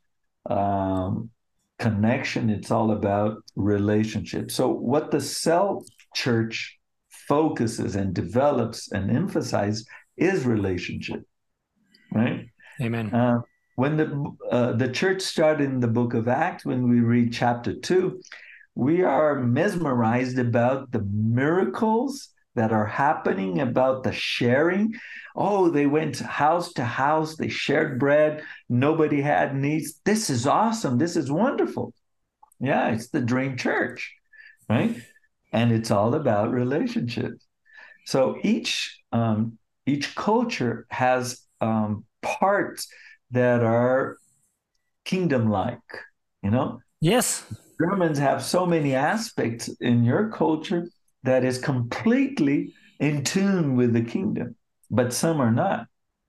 um, connection. It's all about relationship. So what the cell church focuses and develops and emphasizes is relationship. Right.
Amen.
Uh, when the uh, the church started in the book of Acts, when we read chapter two, we are mesmerized about the miracles that are happening, about the sharing. Oh, they went house to house, they shared bread, nobody had needs. This is awesome. This is wonderful. Yeah, it's the dream church, right? And it's all about relationships. So each um, each culture has um, parts that are kingdom-like, you know?
Yes.
Germans have so many aspects in your culture that is completely in tune with the kingdom, but some are not.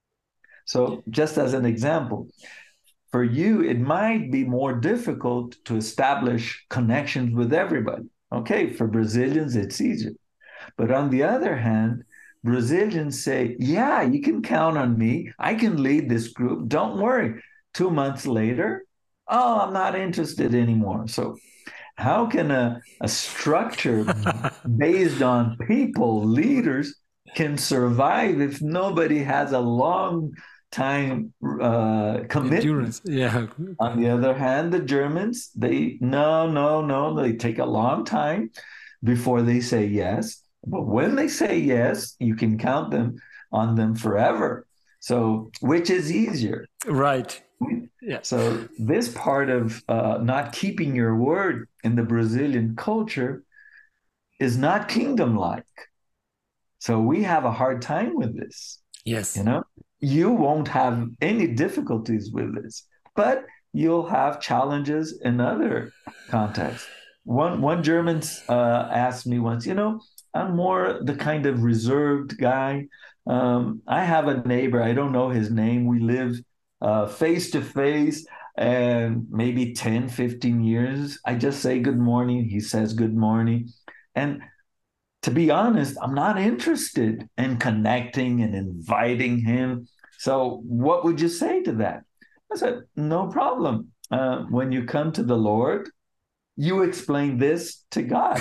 So just as an example, for you, it might be more difficult to establish connections with everybody. Okay, for Brazilians, it's easier. But on the other hand, Brazilians say, yeah, you can count on me. I can lead this group. Don't worry. Two months later, oh, I'm not interested anymore. So how can a, a structure based on people, leaders, can survive if nobody has a long time uh, commitment?
Endurance. Yeah.
On the other hand, the Germans, they, no, no, no, they take a long time before they say yes. But when they say yes, you can count them on them forever. So which is easier?
Right. Yeah.
So this part of uh, not keeping your word in the Brazilian culture is not kingdom-like. So we have a hard time with this.
Yes.
You know, you won't have any difficulties with this, but you'll have challenges in other contexts. One one German uh, asked me once, you know, I'm more the kind of reserved guy. Um, I have a neighbor, I don't know his name. We live uh, face to face, and maybe ten, fifteen years. I just say good morning. He says good morning. And to be honest, I'm not interested in connecting and inviting him. So, what would you say to that? I said, no problem. Uh, when you come to the Lord, you explain this to God.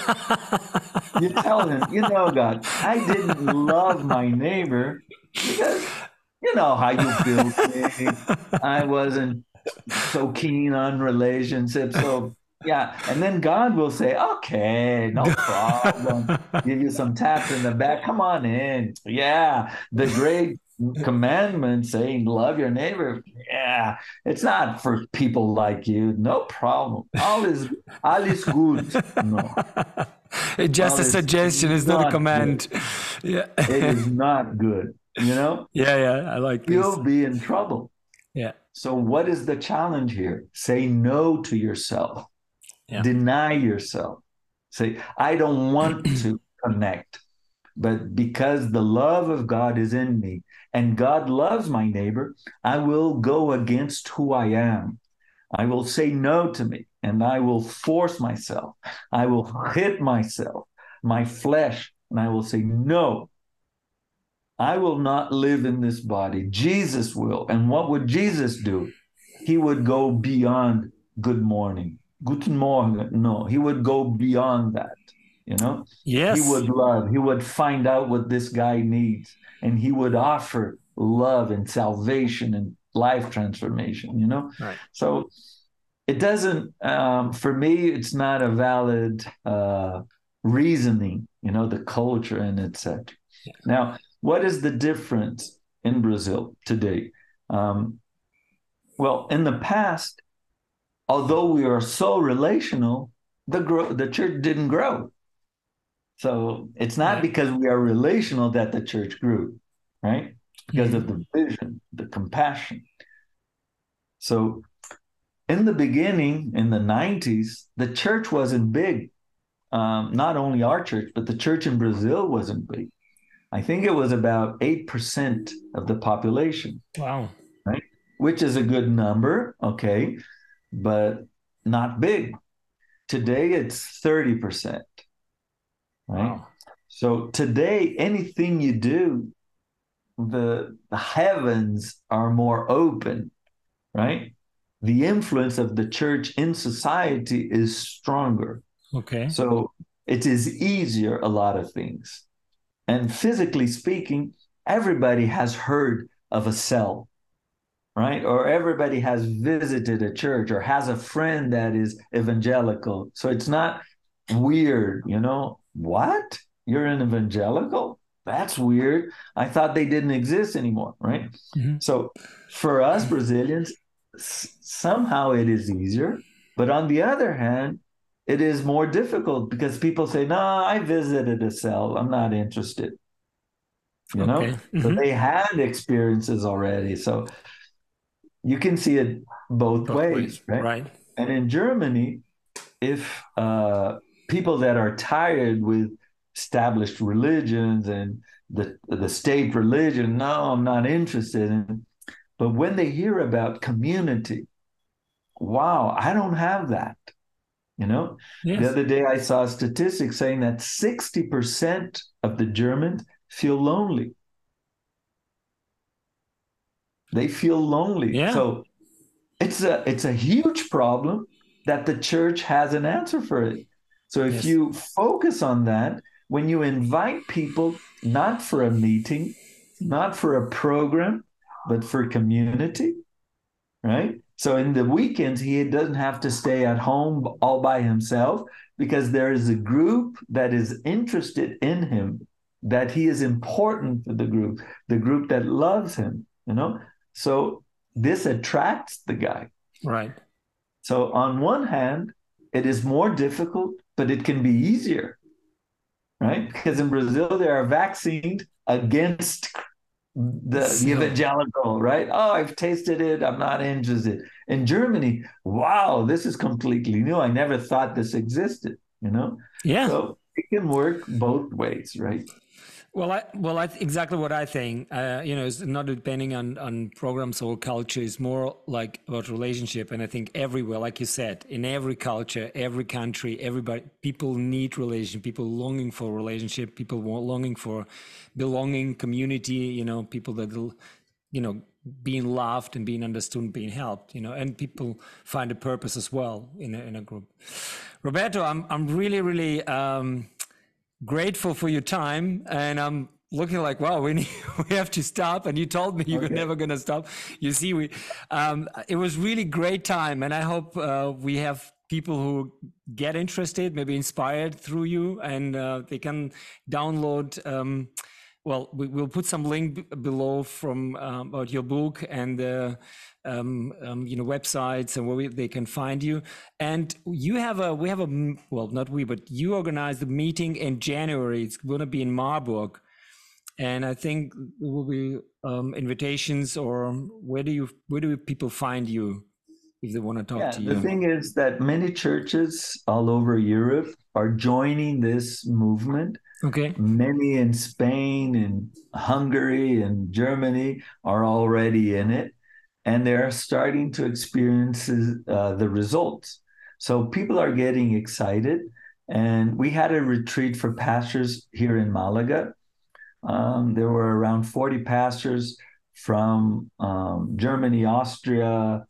You tell him, you know, God, I didn't love my neighbor because you know how you built me. I wasn't so keen on relationships. So, yeah. And then God will say, okay, no problem. Give you some taps in the back. Come on in. Yeah. The great commandment saying, love your neighbor. Yeah. It's not for people like you. No problem. All is, all is good. No.
It's just
All
a
is
suggestion. It's not a
not
command. Yeah.
It is not good. You know,
Yeah. Yeah. I like this.
you'll be in trouble.
Yeah.
So, what is the challenge here? Say no to yourself.
Yeah.
Deny yourself. Say, I don't want to connect, but because the love of God is in me and God loves my neighbor, I will go against who I am. I will say no to me and I will force myself. I will hit myself, my flesh, and I will say, no, I will not live in this body. Jesus will. And what would Jesus do? He would go beyond good morning. Guten Morgen. No, he would go beyond that. You know,
Yes.
he would love, he would find out what this guy needs, and he would offer love and salvation and life transformation, you know?
Right.
So it doesn't, um, for me, it's not a valid uh, reasoning, you know, the culture and et cetera.
Yeah.
Now, what is the difference in Brazil today? Um, well, in the past, although we are so relational, the grow, the church didn't grow. So it's not
Yeah.
because we are relational that the church grew, right? Because
Mhm.
of the vision, the compassion. So in the beginning, in the nineties, the church wasn't big. Um, not only our church, but the church in Brazil wasn't big. I think it was about eight percent of the population.
Wow.
Right? Which is a good number, okay, but not big. Today it's thirty percent, right?
Wow.
So today, anything you do, the, the heavens are more open, right? The influence of the church in society is stronger.
Okay.
So it is easier, a lot of things. And physically speaking, everybody has heard of a cell, right? Or everybody has visited a church or has a friend that is evangelical. So it's not weird, you know? What? You're an evangelical? That's weird. I thought they didn't exist anymore, right?
Mm-hmm.
So for us Brazilians, s- somehow it is easier. But on the other hand, it is more difficult because people say, no, I visited a cell. I'm not interested. You know?
Okay.
So
Mm-hmm.
they had experiences already. So you can see it both,
Both
ways,
ways.
right?
Right.
And in Germany, if uh, people that are tired with established religions and the the state religion, no, I'm not interested in. But when they hear about community, wow, I don't have that. You know, the
Yes.
other day I saw statistics saying that sixty percent of the Germans feel lonely. They feel lonely.
Yeah.
So it's a it's a huge problem that the church has an answer for it. So if
Yes.
you focus on that, when you invite people not for a meeting, not for a program, but for community, right? So in the weekends, he doesn't have to stay at home all by himself because there is a group that is interested in him. that he is important for the group, the group that loves him, you know? So this attracts the guy.
Right.
So on one hand, it is more difficult, but it can be easier, right? Because in Brazil, they are vaccinated against the,
So-
the evangelical, right? Oh, I've tasted it. I'm not interested. In Germany, wow, this is completely new. I never thought this existed, you know?
Yeah.
So it can work both ways, right?
Well, I, well, I, exactly what I think. Uh, you know, it's not depending on on programs or culture. It's more like about relationship. And I think everywhere, like you said, in every culture, every country, everybody, people need relation. People longing for relationship. People want, longing for belonging, community. You know, people that, will, you know, being loved and being understood, and being helped. You know, and people find a purpose as well in a, in a group. Roberto, I'm I'm really really. Um, grateful for your time, and I'm looking like, wow, we need, we have to stop. And you told me you were
Okay.
never going to stop. You see, we um, it was really great time, and I hope uh, we have people who get interested, maybe inspired through you, and uh, they can download. Um, well, we, we'll put some link b- below from um, about your book and the um, um, you know websites and where we, they can find you. And you have a we have a m- well, not we, but you organized a meeting in January. It's going to be in Marburg, and I think there will be um, invitations. Or where do you where do people find you if they want to talk
Yeah,
to
the
you?
thing is that many churches all over Europe are joining this movement.
Okay.
Many in Spain and Hungary and Germany are already in it, and they're starting to experience uh, the results. So people are getting excited. And we had a retreat for pastors here in Malaga. Um, there were around forty pastors from um, Germany, Austria,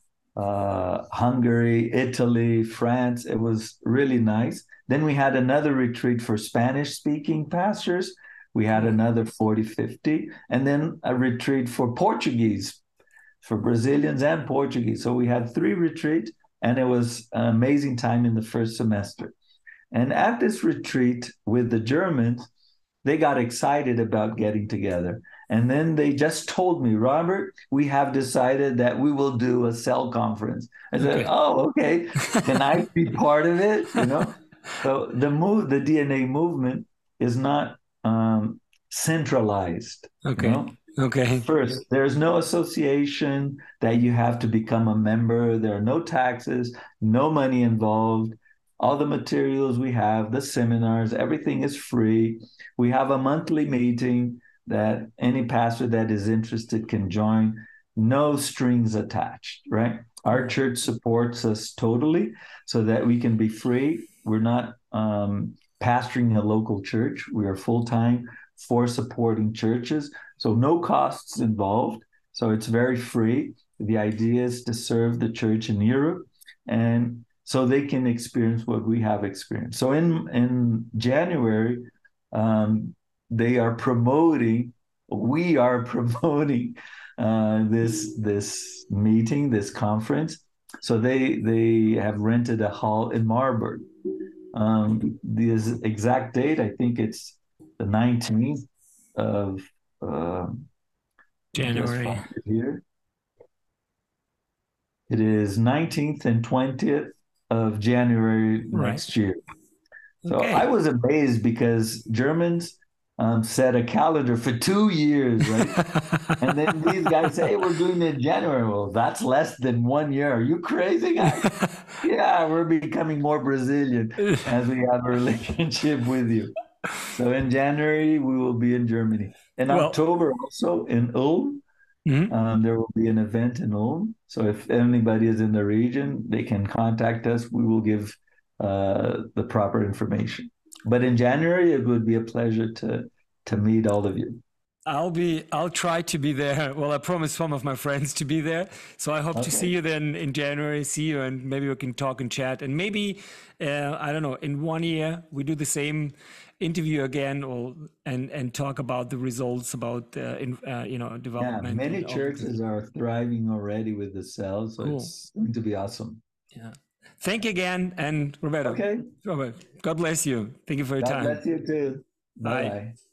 uh, Hungary, Italy, France. It was really nice. Then we had another retreat for Spanish speaking pastors. We had another forty, fifty, and then a retreat for Portuguese, for Brazilians and Portuguese. So we had three retreats, and it was an amazing time in the first semester. And at this retreat with the Germans, they got excited about getting together. And then they just told me, Robert, we have decided that we will do a cell conference. I said,
Okay.
oh, okay. Can I be part of it? You know? So the move, the D N A movement is not um, centralized, you
Okay.
know?
Okay.
First, there's no association that you have to become a member. There are no taxes, no money involved. All the materials we have, the seminars, everything is free. We have a monthly meeting that any pastor that is interested can join. No strings attached, right? Our church supports us totally so that we can be free. We're not um, pastoring a local church. We are full time for supporting churches. So no costs involved. So it's very free. The idea is to serve the church in Europe, and so they can experience what we have experienced. So in in January, um, they are promoting, we are promoting uh, this this meeting, this conference. So they they have rented a hall in Marburg. Um, the exact date, I think it's the nineteenth of uh, just
January.
find it here. It is nineteenth and twentieth of January
Right.
next year. So
Okay.
I was amazed because Germans um, set a calendar for two years, right? And then these guys say, hey, we're doing it in January. Well, that's less than one year. Are you crazy, guys? Yeah, we're becoming more Brazilian as we have a relationship with you. So in January, we will be in Germany. In
Well,
October, also in Ulm,
mhm.
um, there will be an event in Ulm. So if anybody is in the region, they can contact us. We will give uh, the proper information. But in January, it would be a pleasure to to meet all of you.
I'll be, I'll try to be there. Well, I promised some of my friends to be there. So I hope to see
Okay.
you then in January, see you, and maybe we can talk and chat. And maybe, uh, I don't know, in one year, we do the same interview again, or and and talk about the results, about, uh, in, uh, you know,
Yeah,
development
many
and all the things.
churches are thriving already with the cells, so
Cool.
it's going to be awesome.
Yeah. Thank you again. And Roberto,
Okay.
Robert, God bless you. Thank you for your
God
time.
bless you too. Bye
Bye.
bye.